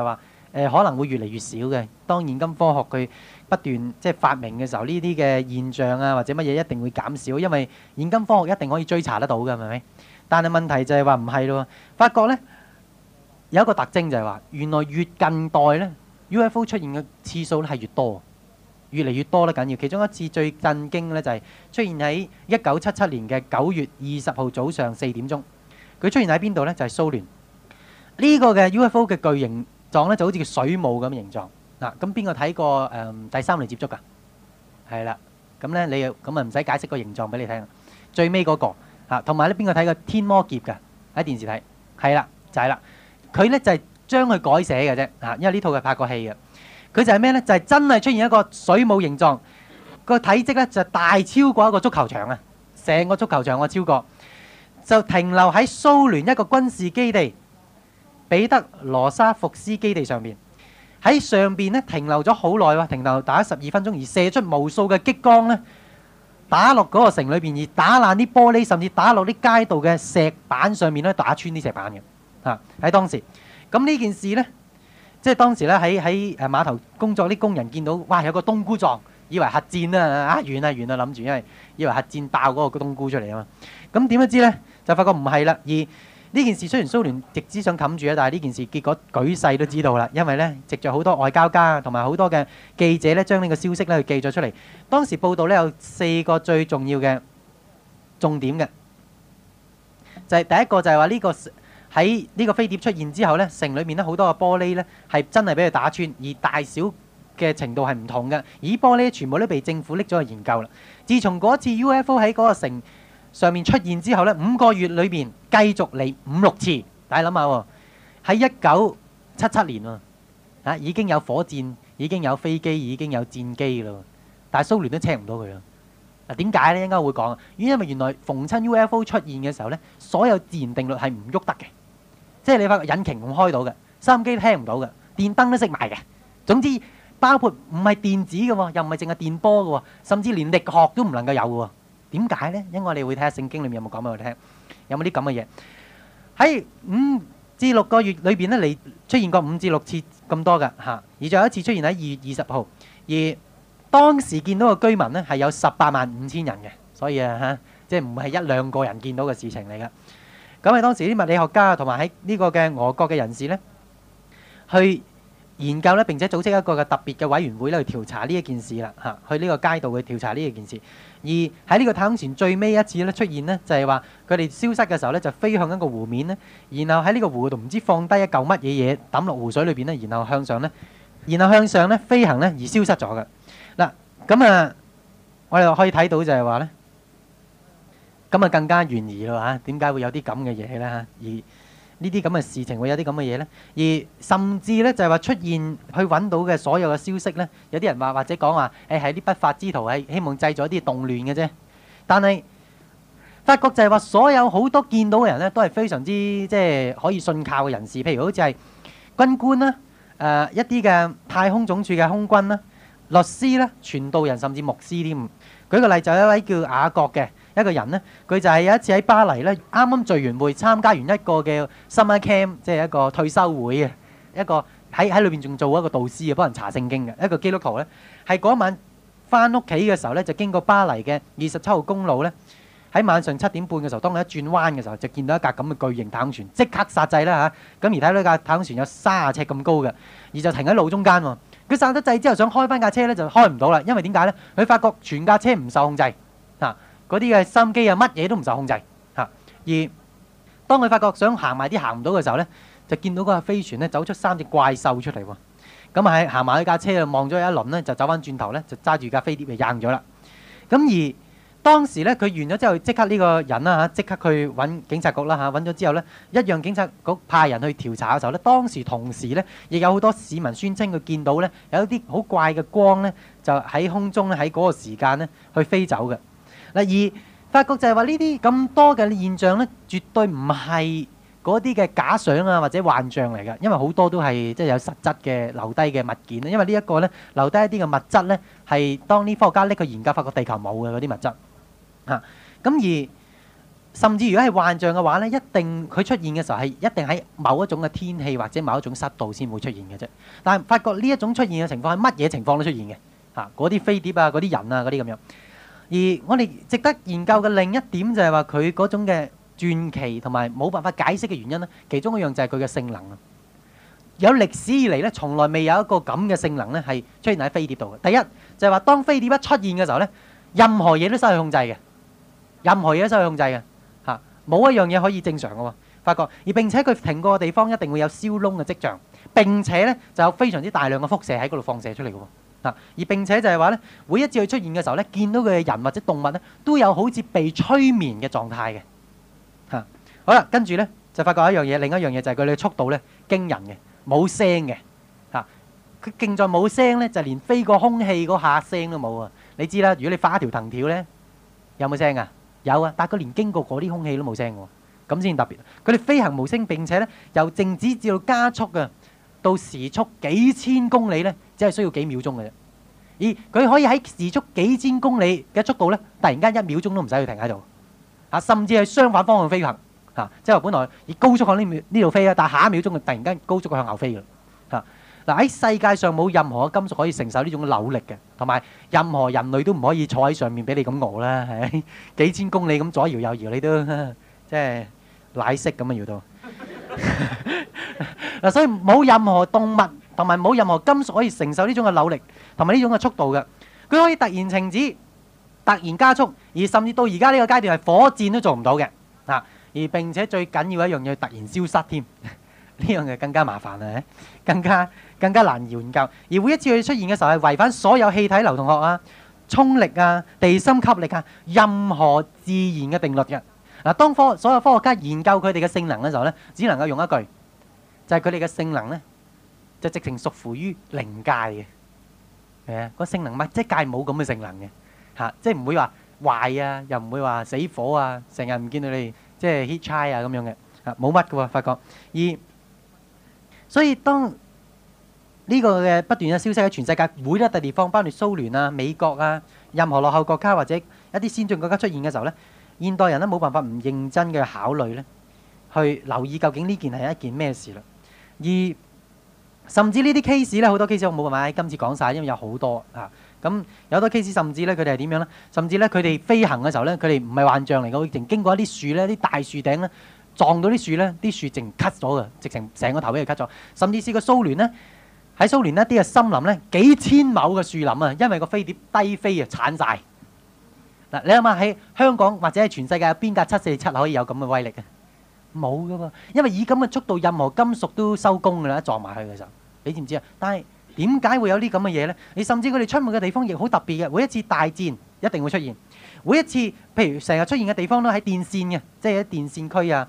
誒可能會越嚟越少嘅。當現今科學佢不斷即係發明嘅時候，呢啲嘅現象啊或者乜嘢一定會減少，因為現今科學一定可以追查得到嘅，係咪？但係問題就係話唔係咯，發覺咧有一個特徵就係話，原來越近代咧 U F O 出現嘅次數咧係越多，越嚟越多咧緊要。其中一次最震驚咧就係出現喺一九七七年嘅九月二十號早上四點鐘，佢出現喺邊度咧？就係蘇聯。呢個嘅 U F O 嘅巨型狀咧就好似個水母咁形狀嗱。咁邊個睇過誒第三類接觸㗎？係啦，咁咧你又咁啊唔使解釋個形狀俾你聽。最尾嗰個嚇，同埋咧邊個睇過天魔劫㗎？喺電視睇，係啦就係啦。佢咧就係將佢改寫嘅啫嚇，因為呢套係拍過戲嘅。佢就係咩咧？就係真係出現一個水母形狀，個體積咧就大超過一個足球場啊！成個足球場我超過，就停留喺蘇聯一個軍事基地彼得羅沙福斯基地上邊。喺上邊咧停留咗好耐喎，停留打十二分鐘，而射出無數嘅激光咧，打落嗰個城裏邊，而打爛啲玻璃，甚至打落啲街道嘅石板上面咧，打穿啲石板嘅嚇。喺當時，咁呢件事咧，即係當時咧喺喺誒碼頭工作啲工人見到，哇有個冬菇狀，以為核戰啊啊完啊完啊諗住，因為以為核戰爆嗰個冬菇出嚟啊嘛。咁點樣知咧？就發覺唔係啦，而呢件事雖然蘇聯直之想冚住啊，但係呢件事結果舉世都知道啦，因為咧藉著好多外交家同埋好多嘅記者咧，將呢個消息咧去記咗出嚟。當時報道咧有四個最重要嘅重點嘅，就係第一個就係話呢個喺呢個飛碟出現之後咧，城裏面咧好多個玻璃咧係真係俾佢打穿，而大小嘅程度係唔同嘅，而玻璃全部都被政府拎咗去研究啦。自從嗰次 U F O 喺嗰個城上面出現之後咧，五個月裏邊繼續嚟五六次。大家諗下喎，喺一九七七年喎，啊已經有火箭，已經有飛機，已經有戰機啦，但係蘇聯都車唔到佢啦。嗱點解咧？應該會講啊，因為原來逢親 U F O 出現嘅時候咧，所有自然定律係唔喐得嘅，即係你發覺引擎唔開到嘅，收音機都聽唔到嘅，電燈都熄埋嘅。總之包括唔係電子嘅喎，又唔係淨係電波嘅喎，甚至連力學都唔能夠有嘅喎。點解咧？因為我哋會睇下聖經裏面有冇講俾我哋聽，有冇啲咁嘅嘢喺五至六個月裏邊咧，嚟出現過五至六次咁多嘅嚇，而仲有一次出現喺二月二十號，而當時見到嘅居民咧係有十八萬五千人嘅，所以啊嚇，即係唔係一兩個人見到嘅事情嚟嘅。咁係當時啲物理學家同埋喺呢個嘅俄國嘅人士咧，去研究咧，並且組織一個嘅特別嘅委員會咧去調查呢一件事啦嚇，去呢個街道去調查呢一件事。而喺呢個太空船最尾一次咧出現呢，就係話佢哋消失嘅時候咧，就飛向一個湖面咧，然後喺呢個湖度唔知放低一嚿乜嘢嘢抌落湖水裏邊咧，然後向上咧，然後向上咧飛行咧而消失咗嘅。嗱咁啊，我哋可以睇到就係話咧，咁啊更加懸疑咯嚇，點解會有啲咁嘅嘢咧嚇？而呢啲咁嘅事情會有啲咁嘅嘢咧，而甚至咧就係話出現去揾到嘅所有嘅消息咧，有啲人話或者講話誒係啲不法之徒係希望製造一啲動亂嘅啫。但係發覺就係話所有好多見到嘅人咧，都係非常之即係可以信靠嘅人士，譬如好似係軍官啦、誒一啲嘅太空總署嘅空軍啦、律師啦、傳道人甚至牧師添。舉個例就有一位叫雅各嘅一個人咧，佢就係有一次喺巴黎咧，啱啱聚完會，參加完一個嘅 summer camp，即係一個退休會啊，一個喺喺裏邊仲做一個導師啊，幫人查聖經嘅一個基督徒咧，係嗰晚翻屋企嘅時候咧，就經過巴黎嘅二十七號公路咧，喺晚上七點半嘅時候，當佢一轉彎嘅時候，就見到一架咁嘅巨型太空船，即刻剎掣啦嚇，咁而睇到呢架太空船有三十尺咁高嘅，而就停喺路中間喎。佢剎咗掣之後想開翻架車咧，就開唔到啦，因為點解咧？佢發覺全架車唔受控制嚇，嗰啲嘅收音機啊乜嘢都唔受控制嚇。而當佢發覺想行埋啲行唔到嘅時候咧，就見到嗰架飛船咧走出三隻怪獸出嚟喎。咁啊喺行埋去架車啊望咗一輪咧，就走翻轉頭咧，就揸住架飛碟就扔咗啦。咁而當時咧，佢完咗之後，即刻呢個人啦嚇，即刻去揾警察局啦嚇，揾咗之後咧，一樣警察局派人去調查嘅時候咧，當時同時咧，亦有好多市民宣稱佢見到咧，有一啲好怪嘅光咧，就喺空中咧，喺嗰個時間咧去飛走嘅。嗱，而發覺就係話呢啲咁多嘅現象咧，絕對唔係嗰啲嘅假想啊或者幻象嚟嘅，因為好多都係即係有實質嘅留低嘅物件咧。因為呢一個咧留低一啲嘅物質咧，係當啲科學家拎去研究，發覺地球冇嘅嗰啲物質。嚇，咁而甚至如果係幻象嘅話咧，一定佢出現嘅時候係一定喺某一種嘅天氣或者某一種濕度先會出現嘅啫。但係發覺呢一種出現嘅情況係乜嘢情況都出現嘅嚇，嗰啲飛碟啊、嗰啲人啊、嗰啲咁樣。而我哋值得研究嘅另一點就係話佢嗰種嘅傳奇同埋冇辦法解釋嘅原因咧，其中一樣就係佢嘅性能啊。有歷史以嚟咧，從來未有一個咁嘅性能咧係出現喺飛碟度嘅。第一就係話當飛碟一出現嘅時候咧，任何嘢都失去控制嘅，任何嘢都失去控制嘅嚇，冇一樣嘢可以正常嘅喎。發覺而並且佢停過嘅地方一定會有燒窿嘅跡象，並且咧就有非常之大量嘅輻射喺嗰度放射出嚟嘅喎。啊！而並且就係話咧，每一次佢出現嘅時候咧，見到佢嘅人或者動物咧，都有好似被催眠嘅狀態嘅。嚇、啊！好啦，跟住咧就發覺一樣嘢，另一樣嘢就係佢哋嘅速度咧驚人嘅，冇聲嘅。嚇、啊！佢勁在冇聲咧，就連飛過空氣嗰下聲都冇啊！你知啦，如果你發一條藤條咧，有冇聲啊？有啊，但係佢連經過嗰啲空氣都冇聲喎，咁先特別。佢哋飛行無聲，並且咧由靜止至到加速嘅。到時速幾千公里咧，只係需要幾秒鐘嘅啫。而佢可以喺時速幾千公里嘅速度咧，突然間一秒鐘都唔使去停喺度，啊，甚至係相反方向飛行，嚇、啊，即係話本來以高速向呢呢度飛啊，但係下一秒鐘就突然間高速向後飛嘅，嚇。嗱，喺世界上冇任何嘅金屬可以承受呢種扭力嘅，同埋任何人類都唔可以坐喺上面俾你咁搖啦，係咪？幾千公里咁左搖右搖，你都即係奶色咁啊搖到。嗱，所以冇任何動物同埋冇任何金屬可以承受呢種嘅扭力同埋呢種嘅速度嘅。佢可以突然停止、突然加速，而甚至到而家呢個階段係火箭都做唔到嘅。啊，而並且最緊要一樣嘢，突然消失添，呢樣嘢更加麻煩啊，更加更加難研究。而每一次佢出現嘅時候係違反所有氣體流動學啊、衝力啊、地心吸力啊、任何自然嘅定律嘅。嗱，當科所有科學家研究佢哋嘅性能嘅時候咧，只能夠用一句。就係佢哋嘅性能咧，就直情屬乎於靈界嘅，係啊，個性能物質界冇咁嘅性能嘅，嚇，即係唔會話壞啊，又唔會話死火啊，成日唔見到你即係 heat chai 啊咁樣嘅，嚇，冇乜嘅喎，發覺。而所以當呢個嘅不斷嘅消息喺全世界每一笪地方，包括蘇聯啊、美國啊、任何落後國家或者一啲先進國家出現嘅時候咧，現代人咧冇辦法唔認真嘅考慮咧，去留意究竟呢件係一件咩事啦。而甚至呢啲 case 咧，好多 case 我冇辦法喺今次講晒，因為有好多啊。咁有好多 case，甚至咧佢哋係點樣咧？甚至咧佢哋飛行嘅時候咧，佢哋唔係幻象嚟嘅，會淨經過一啲樹咧，啲大樹頂咧撞到啲樹咧，啲樹淨 cut 咗嘅，直情成個頭俾佢 cut 咗。甚至試過蘇聯咧，喺蘇聯一啲嘅森林咧，幾千畝嘅樹林啊，因為個飛碟低飛啊，鏟晒。嗱，你諗下喺香港或者係全世界有邊架七四七可以有咁嘅威力啊？冇噶喎，因為以咁嘅速度，任何金屬都收工噶啦，一撞埋去嘅時候，你知唔知啊？但係點解會有啲咁嘅嘢咧？你甚至佢哋出沒嘅地方亦好特別嘅，每一次大戰一定會出現，每一次譬如成日出現嘅地方都喺電線嘅，即係喺電線區啊、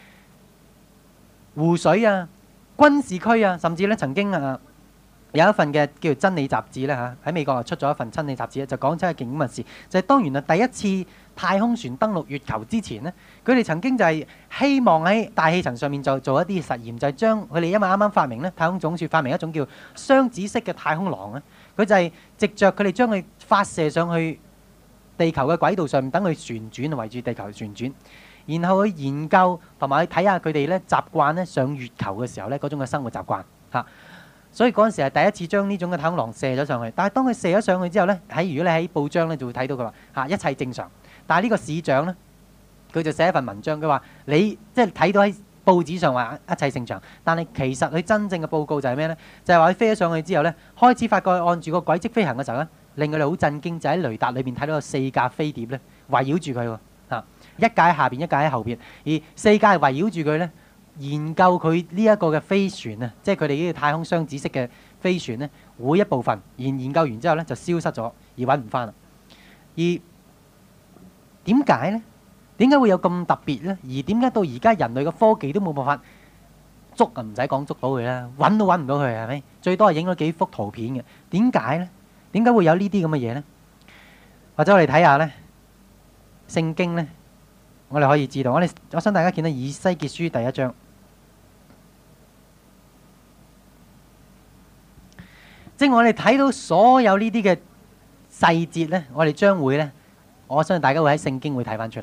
湖水啊、軍事區啊，甚至咧曾經啊有一份嘅叫做《真理雜誌》咧嚇，喺美國啊出咗一份《真理雜誌》咧，就講出一件咁嘅事，就係、是、當原來第一次太空船登陸月球之前咧，佢哋曾經就係希望喺大氣層上面就做一啲實驗，就係、是、將佢哋因為啱啱發明咧，太空總署發明一種叫雙子式嘅太空廊咧，佢就係藉着佢哋將佢發射上去地球嘅軌道上面，等佢旋轉，圍住地球旋轉，然後去研究同埋去睇下佢哋咧習慣咧上月球嘅時候咧嗰種嘅生活習慣嚇。所以嗰陣時係第一次將呢種嘅太空廊射咗上去，但係當佢射咗上去之後咧，喺如果你喺報章咧就會睇到佢話嚇一切正常。但係呢個市長咧，佢就寫一份文章，佢話你即係睇到喺報紙上話一切正常，但係其實佢真正嘅報告就係咩咧？就係話佢飛咗上去之後咧，開始發覺按住個軌跡飛行嘅時候咧，令佢哋好震驚，就喺雷達裏邊睇到有四架飛碟咧圍繞住佢喎嚇，一架喺下邊，一架喺後邊，而四架係圍繞住佢咧。研究佢呢一個嘅飛船啊，即係佢哋呢個太空雙子式嘅飛船咧，每一部分研研究完之後咧就消失咗，而揾唔翻啦。而點解咧？點解會有咁特別咧？而點解到而家人類嘅科技都冇辦法捉啊？唔使講捉到佢啦，揾都揾唔到佢係咪？最多係影咗幾幅圖片嘅。點解咧？點解會有呢啲咁嘅嘢咧？或者我哋睇下咧，聖經咧，我哋可以知道。我哋我想大家見到以西結書第一章。即係我哋睇到所有呢啲嘅細節咧，我哋將會咧，我相信大家會喺聖經會睇翻出嚟嘅。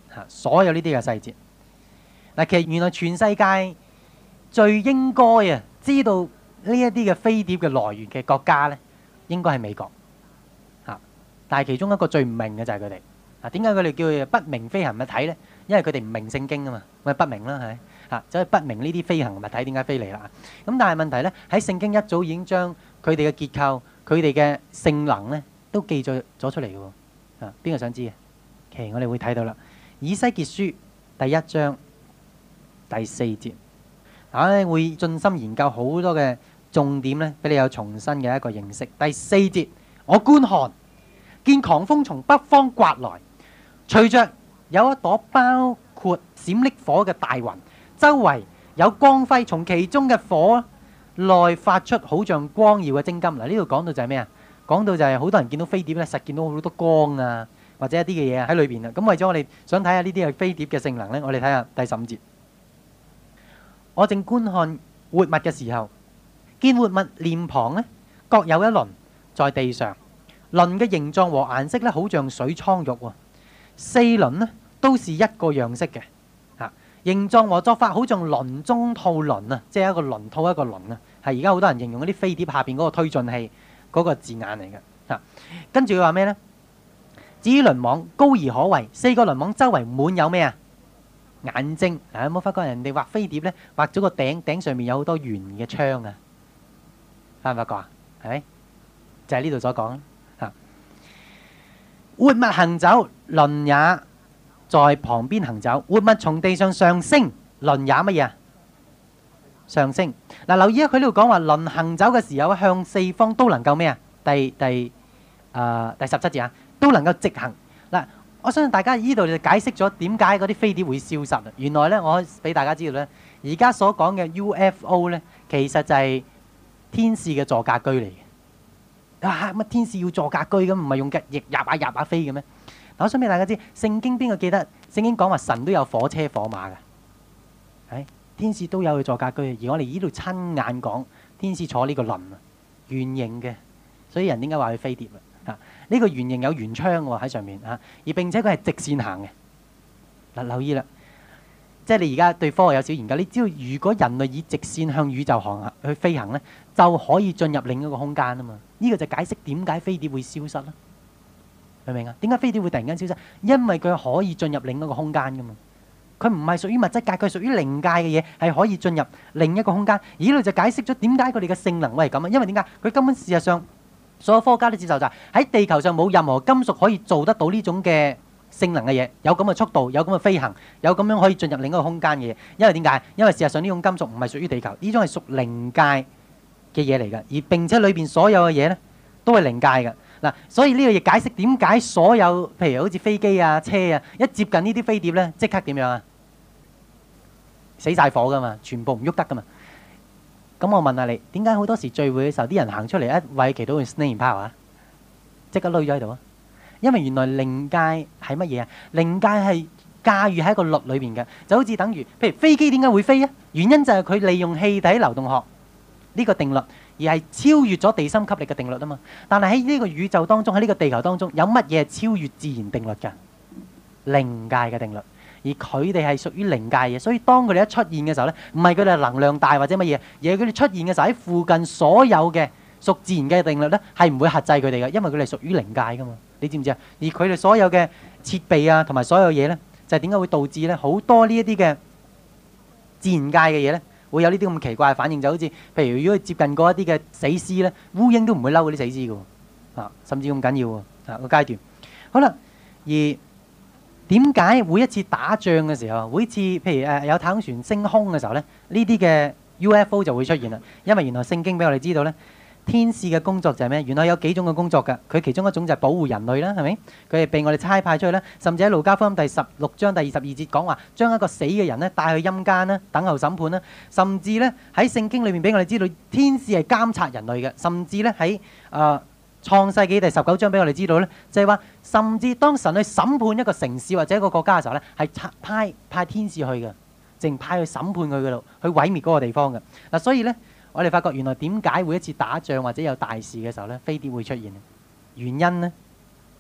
嚇，所有呢啲嘅細節。嗱，其實原來全世界最應該啊知道呢一啲嘅飛碟嘅來源嘅國家咧，應該係美國嚇。但係其中一個最唔明嘅就係佢哋。嗱，點解佢哋叫佢不明飛行物體咧？因為佢哋唔明聖經啊嘛，咪不明啦，係咪嚇？所以不明呢啲飛行物體點解飛嚟啦？咁但係問題咧，喺聖經一早已經將佢哋嘅結構、佢哋嘅性能咧，都記載咗出嚟嘅喎。啊，邊個想知嘅？其實我哋會睇到啦，《以西結書》第一章第四節，我咧會盡心研究好多嘅重點咧，俾你有重新嘅一個認識。第四節，我觀看，見狂風從北方刮來，隨着有一朵包括閃爍火嘅大雲，周圍有光輝，從其中嘅火內發出好像光耀嘅精金。嗱，呢度講到就係咩啊？講到就係好多人見到飛碟咧，實見到好多光啊，或者一啲嘅嘢喺裏邊啊。咁為咗我哋想睇下呢啲嘅飛碟嘅性能咧，我哋睇下第十五節。我正觀看活物嘅時候，見活物臉龐咧各有一輪在地上，輪嘅形狀和顏色咧，好像水蒼玉喎。四輪咧都是一個樣式嘅，嚇，形狀和作法好像輪中套輪啊，即係一個輪套一個輪啊，係而家好多人形容嗰啲飛碟下邊嗰個推進器嗰個字眼嚟嘅嚇。跟住佢話咩呢？至於輪網高而可畏，四個輪網周圍滿有咩啊？眼睛啊！有冇發覺人哋畫飛碟呢？畫咗個頂，頂上面有好多圓嘅窗啊？發唔發覺啊？係咪？就係呢度所講嚇。活物行走，輪也在旁邊行走。活物從地上上升，輪也乜嘢啊？上升。嗱，留意啊！佢呢度講話輪行走嘅時候，向四方都能夠咩啊？第第啊第十七節啊，都能夠直行。嗱，我相信大家呢度就解釋咗點解嗰啲飛碟會消失啊。原來咧，我可以俾大家知道咧，而家所講嘅 U F O 咧，其實就係天使嘅座駕居嚟嘅。啊！乜天使要座駕居咁，唔係用嘅翼入下入下飛嘅咩？嗱，我想俾大家知，聖經邊個記得？聖經講話神都有火車火馬嘅，係天使都有去座駕居。而我哋呢度親眼講，天使坐呢個輪啊，圓形嘅，所以人點解話佢飛碟啊？啊，呢個圓形有圓窗喎喺上面啊，而並且佢係直線行嘅。嗱，留意啦。即係你而家對科學有少研究，你知道如果人類以直線向宇宙航行去飛行咧，就可以進入另一個空間啊嘛！呢個就解釋點解飛碟會消失啦，明唔明啊？點解飛碟會突然間消失？因為佢可以進入另一個空間噶嘛，佢唔係屬於物質界，佢係屬於靈界嘅嘢，係可以進入另一個空間。而呢度就解釋咗點解佢哋嘅性能會係咁啊！因為點解？佢根本事實上所有科學家都接受就係喺地球上冇任何金屬可以做得到呢種嘅性能嘅嘢，有咁嘅速度，有咁嘅飛行，有咁樣可以進入另一個空間嘅嘢。因為點解？因為事實上呢種金屬唔係屬於地球，呢種係屬靈界嘅嘢嚟嘅，而並且裏邊所有嘅嘢咧都係靈界嘅。嗱，所以呢個亦解釋點解所有譬如好似飛機啊、車啊，一接近呢啲飛碟咧，即刻點樣啊？死晒火噶嘛，全部唔喐得噶嘛。咁我問下你，點解好多時聚會嘅時候啲人行出嚟一為祈禱去 snake power 啊？即刻累咗喺度啊！因為原來靈界係乜嘢啊？靈界係駕馭喺一個律裏邊嘅，就好似等於譬如飛機點解會飛啊？原因就係佢利用氣體流動學呢個定律，而係超越咗地心吸力嘅定律啊嘛。但係喺呢個宇宙當中，喺呢個地球當中，有乜嘢係超越自然定律㗎？靈界嘅定律，而佢哋係屬於靈界嘅，所以當佢哋一出現嘅時候咧，唔係佢哋能量大或者乜嘢，而係佢哋出現嘅時候喺附近所有嘅屬自然嘅定律咧，係唔會轄制佢哋嘅，因為佢哋屬於靈界㗎嘛。你知唔知啊？而佢哋所有嘅設備啊，同埋所有嘢咧，就係點解會導致咧好多呢一啲嘅自然界嘅嘢咧，會有呢啲咁奇怪嘅反應？就好似譬如如果接近過一啲嘅死屍咧，烏蠅都唔會嬲嗰啲死屍嘅喎，啊，甚至咁緊要喎啊個階段。好啦，而點解每一次打仗嘅時候，每一次譬如誒有太空船升空嘅時候咧，呢啲嘅 U F O 就會出現啦？因為原來聖經俾我哋知道咧。天使嘅工作就係咩？原來有幾種嘅工作㗎。佢其中一種就係保護人類啦，係咪？佢係被我哋差派出去啦。甚至喺路加福音第十六章第二十二節講話，將一個死嘅人咧帶去陰間啦，等候審判啦。甚至咧喺聖經裏面俾我哋知道，天使係監察人類嘅。甚至咧喺誒創世紀第十九章俾我哋知道咧，就係話，甚至當神去審判一個城市或者一個國家嘅時候咧，係派派天使去嘅，淨派去審判佢嗰度，去毀滅嗰個地方嘅。嗱，所以咧。我哋發覺原來點解每一次打仗或者有大事嘅時候咧，飛碟會出現？原因咧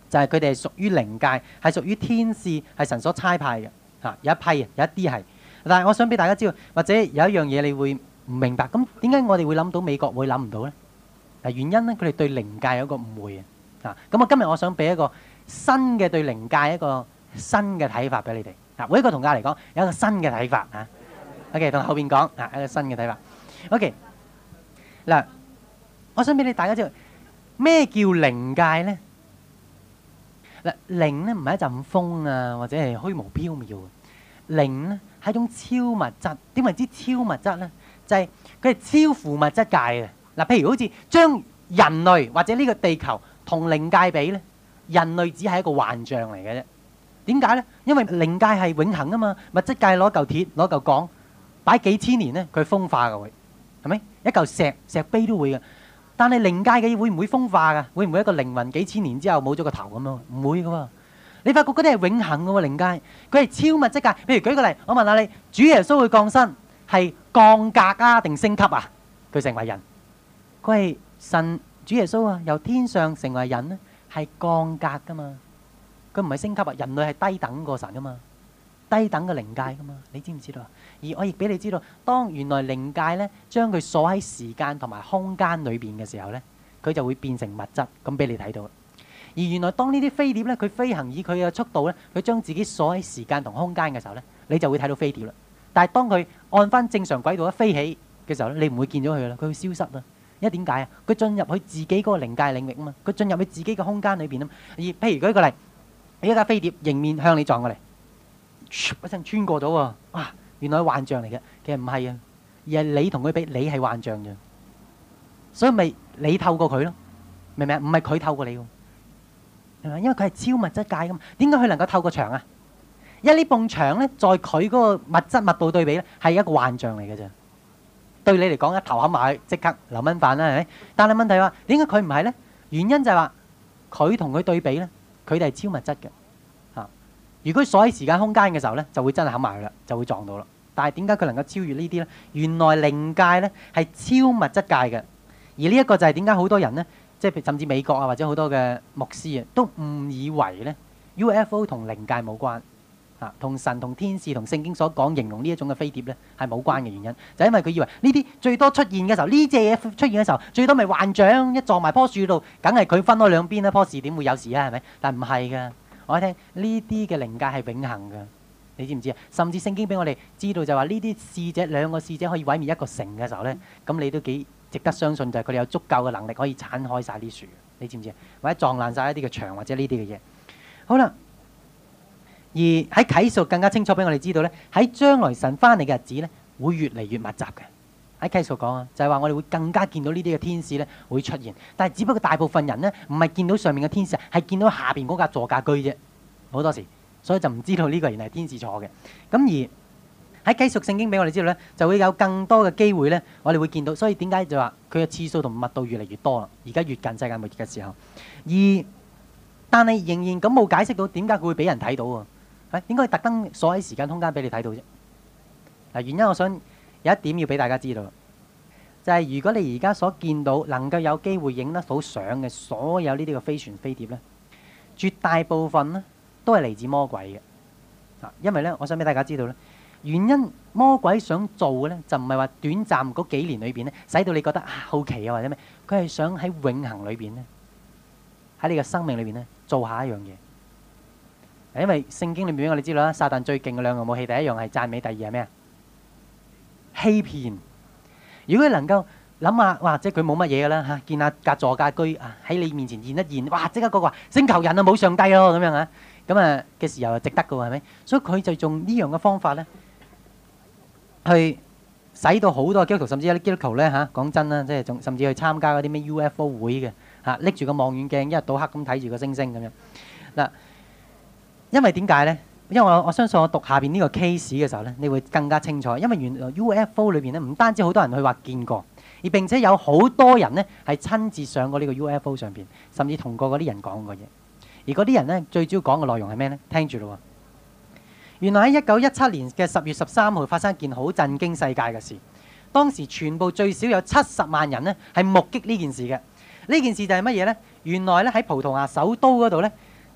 就係佢哋係屬於靈界，係屬於天使，係神所差派嘅嚇。有一批，有一啲係。但係我想俾大家知道，或者有一樣嘢你會唔明白，咁點解我哋會諗到美國會諗唔到呢？嗱，原因咧，佢哋對靈界有一個誤會啊。咁我今日我想俾一個新嘅對靈界一個新嘅睇法俾你哋。嗱，每一個同教嚟講有一個新嘅睇法啊。OK， 同後邊講啊，一個新嘅睇法。OK， 嗱，我想俾你大家知道咩叫靈界咧？嗱，靈咧唔係一陣風啊，或者係虛無縹緲嘅。靈咧係一種超物質。點為之超物質咧？就係佢係超乎物質界嘅。嗱，譬如好似將人類或者呢個地球同靈界比咧，人類只係一個幻象嚟嘅啫。點解咧？因為靈界係永恆啊嘛，物質界攞嚿鐵攞嚿鋼擺幾千年咧，佢風化嘅會係咪？一嚿石石碑都會嘅。但係靈界嘅會唔會風化㗎？會唔會一個靈魂幾千年之後冇咗個頭咁樣？唔會嘅喎。你發覺嗰啲係永恆嘅喎，靈界佢係超物質界。譬如舉個例，我問下你，主耶穌會降生係降格啊定升級啊？佢成為人。佢係神主耶穌啊，由天上成為人咧，係降格噶嘛，佢唔係升級啊。人類係低等過神噶嘛，低等嘅靈界噶嘛，你知唔知道啊？而我亦俾你知道，當原來靈界咧將佢鎖喺時間同埋空間裏邊嘅時候咧，佢就會變成物質，咁俾你睇到。而原來當呢啲飛碟咧，佢飛行以佢嘅速度咧，佢將自己鎖喺時間同空間嘅時候咧，你就會睇到飛碟啦。但係當佢按翻正常軌道一飛起嘅時候咧，你唔會見到佢啦，佢會消失啦。因為點解啊？佢進入去自己嗰個靈界領域啊嘛，佢進入去自己嘅空間裏邊啊嘛。而譬如舉個例，你一架飛碟迎面向你撞過嚟，一聲穿過咗喎，哇！原來係幻象嚟嘅，其實唔係啊，而係你同佢比，你係幻象啫。所以咪你透過佢咯，明唔明啊？唔係佢透過你喎，係咪？因為佢係超物質界噶嘛。點解佢能夠透過牆啊？因為呢埲牆咧，在佢嗰個物質密度對比咧，係一個幻象嚟嘅啫。對你嚟講，一頭冚埋去，即刻流蚊飯啦，係咪？但係問題話，點解佢唔係咧？原因就係話佢同佢對比咧，佢哋係超物質嘅嚇。如果鎖喺時間空間嘅時候咧，就會真係冚埋去啦，就會撞到啦。但係點解佢能夠超越呢啲咧？原來靈界咧係超物質界嘅，而呢一個就係點解好多人咧，即係甚至美國啊或者好多嘅牧師啊，都誤以為咧 U F O 同靈界冇關。啊，同神同天使同聖經所講形容呢一種嘅飛碟咧係冇關嘅原因，就係因為佢以為呢啲最多出現嘅時候，呢隻嘢出現嘅時候，最多咪幻象，一撞埋棵樹度，梗係佢分開兩邊啦，棵樹點會有事啊？係咪？但唔係㗎，我一聽呢啲嘅靈界係永恆㗎，你知唔知啊？甚至聖經俾我哋知道就話呢啲使者兩個使者可以毀滅一個城嘅時候咧，咁你都幾值得相信，就係佢哋有足夠嘅能力可以剷開晒啲樹，你知唔知啊？或者撞爛晒一啲嘅牆或者呢啲嘅嘢。好啦。而喺啟示更加清楚俾我哋知道咧，喺將來神翻嚟嘅日子咧，會越嚟越密集嘅。喺啟示講啊，就係話我哋會更加見到呢啲嘅天使咧會出現，但係只不過大部分人咧唔係見到上面嘅天使，係見到下邊嗰架座駕居啫。好多時，所以就唔知道呢個原來係天使坐嘅。咁而喺啟示聖經俾我哋知道咧，就會有更多嘅機會咧，我哋會見到。所以點解就話佢嘅次數同密度越嚟越多啦？而家越近世界末日嘅時候，而但係仍然咁冇解釋到點解佢會俾人睇到喎？係應該特登鎖喺時間空間俾你睇到啫。嗱，原因我想有一點要俾大家知道，就係如果你而家所見到能夠有機會影得到相嘅所有呢啲嘅飛船飛碟咧，絕大部分咧都係嚟自魔鬼嘅。啊，因為咧，我想俾大家知道咧，原因魔鬼想做嘅咧，就唔係話短暫嗰幾年裏邊咧，使到你覺得啊好奇啊或者咩，佢係想喺永恆裏邊咧，喺你嘅生命裏邊咧做下一樣嘢。因為聖經裏面俾我哋知道啦，撒旦最勁嘅兩樣武器，第一樣係讚美，第二係咩啊？欺騙。如果你能夠諗下，哇！即係佢冇乜嘢噶啦嚇，見下架座駕居啊喺你面前現一現，哇！即刻嗰個話星球人啊冇上帝咯咁樣啊，咁啊嘅時候就值得嘅喎，係咪？所以佢就用呢樣嘅方法咧，去使到好多基督徒，甚至有啲基督徒咧嚇，講真啦，即係仲甚至去參加嗰啲咩 U F O 會嘅嚇，拎住個望遠鏡一日到黑咁睇住個星星咁樣嗱。因為點解咧？因為我我相信我讀下邊呢個 case 嘅時候咧，你會更加清楚。因為原來 U F O 裏邊咧，唔單止好多人去話見過，而並且有好多人咧係親自上過呢個 U F O 上邊，甚至同過嗰啲人講過嘢。而嗰啲人咧，最主要講嘅內容係咩咧？聽住咯。原來喺一九一七年嘅十月十三號發生一件好震驚世界嘅事。當時全部最少有七十萬人咧係目擊呢件事嘅。呢件事就係乜嘢咧？原來咧喺葡萄牙首都嗰度咧。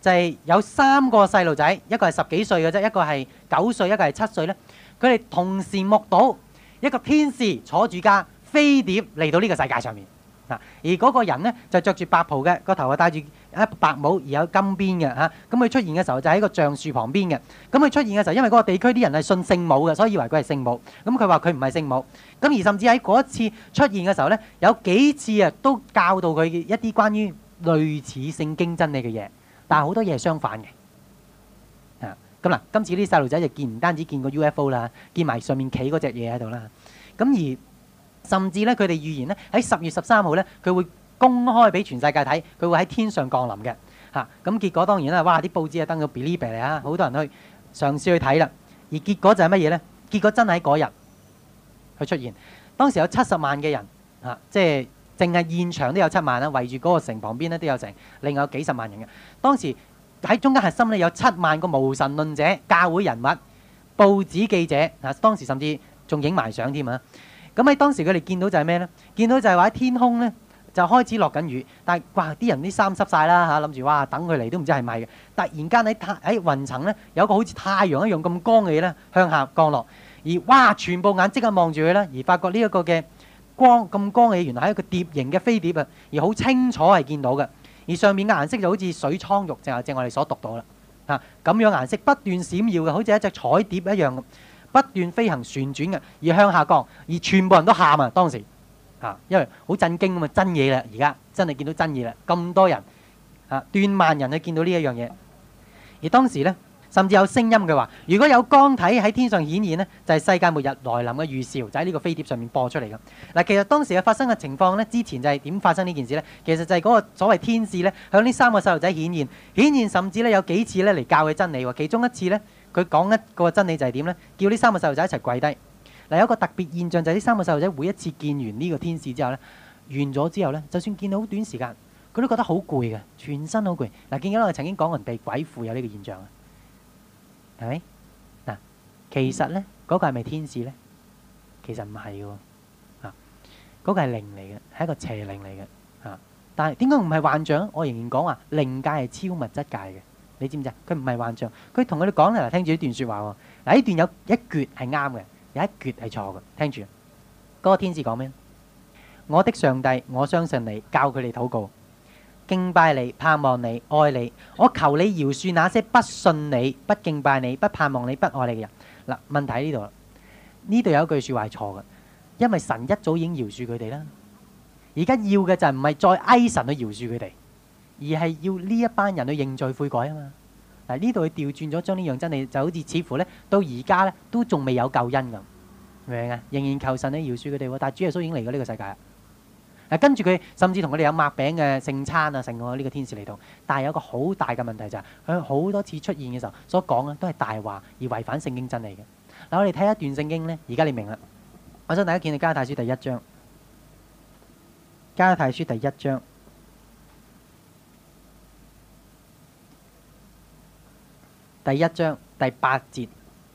就係有三個細路仔，一個係十幾歲嘅啫，一個係九歲，一個係七歲咧。佢哋同時目睹一個天使坐住架飛碟嚟到呢個世界上面。嗱，而嗰個人咧就着住白袍嘅，個頭啊戴住一白帽，而有金邊嘅嚇。咁佢出現嘅時候就喺個橡樹旁邊嘅。咁佢出現嘅時候，因為嗰個地區啲人係信聖母嘅，所以以為佢係聖母。咁佢話佢唔係聖母。咁而甚至喺嗰一次出現嘅時候咧，有幾次啊都教導佢一啲關於類似聖經真理嘅嘢，但係好多嘢係相反嘅。啊，咁嗱，今次啲細路仔就見唔單止見過 U F O 啦，見埋上面企嗰隻嘢喺度啦。咁而甚至咧，佢哋預言咧喺十月十三號咧，佢會公開俾全世界睇，佢會喺天上降臨嘅嚇。咁結果當然啦，哇！啲報紙啊登到 believe 嚟啊，好多人去嘗試去睇啦。而結果就係乜嘢咧？結果真係喺嗰日去出現。當時有七十萬嘅人嚇，即係淨係現場都有七萬啦，圍住嗰個城旁邊咧都有成，另外有幾十萬人嘅。當時喺中間核心咧有七萬個無神論者、教會人物、報紙記者嚇，當時甚至仲影埋相添啊！咁喺當時佢哋見到就係咩咧？見到就係話喺天空咧就開始落緊雨，但係哇啲人啲衫濕晒啦嚇，諗住哇等佢嚟都唔知係咪嘅。突然間喺太喺雲層咧有個好似太陽一樣咁光嘅嘢咧向下降落，而哇全部眼即刻望住佢啦，而發覺呢一個嘅光咁光嘅嘢原來係一個碟形嘅飛碟啊，而好清楚係見到嘅，而上面嘅顏色就好似水蒼玉，就係正我哋所讀到啦嚇，咁樣顏色不斷閃耀嘅，好似一隻彩碟一樣。不斷飛行旋轉嘅，而向下降，而全部人都喊啊！當時啊，因為好震驚啊嘛，真嘢啦！而家真係見到真嘢啦，咁多人啊，斷萬人去見到呢一樣嘢。而當時呢，甚至有聲音嘅話，如果有光體喺天上顯現呢，就係世界末日來臨嘅預兆，就喺呢個飛碟上面播出嚟嘅。嗱，其實當時嘅發生嘅情況呢，之前就係點發生呢件事呢？其實就係嗰個所謂天使呢，向呢三個細路仔顯現，顯現甚至呢有幾次呢嚟教佢真理喎。其中一次呢。佢講一個真理就係點呢？叫呢三個細路仔一齊跪低。嗱，有一個特別現象就係呢三個細路仔每一次見完呢個天使之後呢，完咗之後呢，就算見到好短時間，佢都覺得好攰嘅，全身好攰。嗱，見到我哋曾經講過人被鬼附有呢個現象啊，係咪？嗱，其實呢，嗰個係咪天使呢？其實唔係嘅喎，啊，嗰個係靈嚟嘅，係一個邪靈嚟嘅，啊，但係點解唔係幻象？我仍然講話靈界係超物質界嘅。你知唔知啊？佢唔係幻象，佢同佢哋講咧，嗱，聽住呢段説話喎。嗱，呢段有一橛係啱嘅，有一橛係錯嘅。聽住，嗰個天使講咩？我的上帝，我相信你，教佢哋禱告，敬拜你，盼望你，愛你。我求你饒恕那些不信你、不敬拜你、不盼望你、不愛你嘅人。嗱，問題喺呢度啦。呢度有一句説話係錯嘅，因為神一早已經饒恕佢哋啦。而家要嘅就係唔係再哀神去饒恕佢哋。而係要呢一班人去認罪悔改啊嘛！嗱，呢度佢調轉咗，將呢樣真理就好似似乎咧到而家咧都仲未有救恩咁，明唔明啊？仍然求神去饒恕佢哋喎，但係主耶穌已經嚟過呢個世界啦。嗱，跟住佢甚至同佢哋有擘餅嘅聖餐啊，成個呢個天使嚟到，但係有個好大嘅問題就係佢好多次出現嘅時候所講嘅都係大話而違反聖經真理嘅。嗱，我哋睇一段聖經咧，而家你明啦。我想大家見到加拉太書第一章，加拉太書第一章。第一章第八節，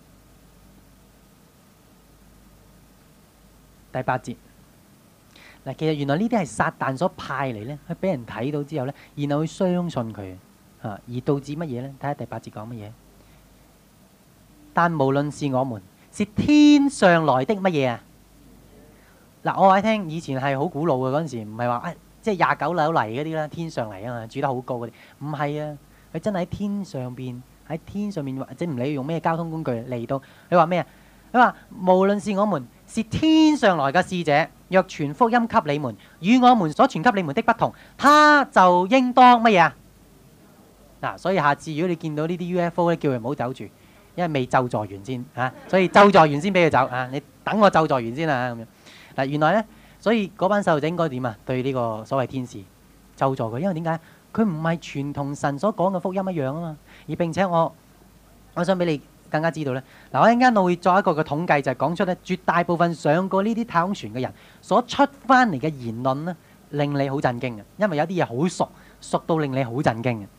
第八節嗱，其實原來呢啲係撒旦所派嚟咧，去俾人睇到之後咧，然後去相信佢啊，而導致乜嘢咧？睇下第八節講乜嘢？但無論是我們，是天上來的乜嘢啊？嗱，我話你聽，以前係好古老嘅嗰陣時，唔係話誒，即係廿九樓嚟嗰啲啦，天上嚟啊嘛，住得好高嗰啲，唔係啊，佢真係喺天上邊。喺天上面或者唔理用咩交通工具嚟到，佢話咩啊？佢話無論是我們是天上來嘅使者，若傳福音給你們，與我們所傳給你們的不同，他就應當乜嘢啊？嗱，所以下次如果你見到呢啲 U F O 咧，叫佢唔好走住，因為未咒詛完先嚇，所以咒詛完先俾佢走啊！你等我咒詛完先啊咁樣。嗱，原來咧，所以嗰班細路仔應該點啊？對呢個所謂天使咒詛佢，因為點解？佢唔係全同神所講嘅福音一樣啊嘛，而並且我我想俾你更加知道咧。嗱，我一陣間我會作一個嘅統計，就係講出咧絕大部分上過呢啲太空船嘅人所出翻嚟嘅言論咧，令你好震驚嘅，因為有啲嘢好熟，熟到令你好震驚嘅。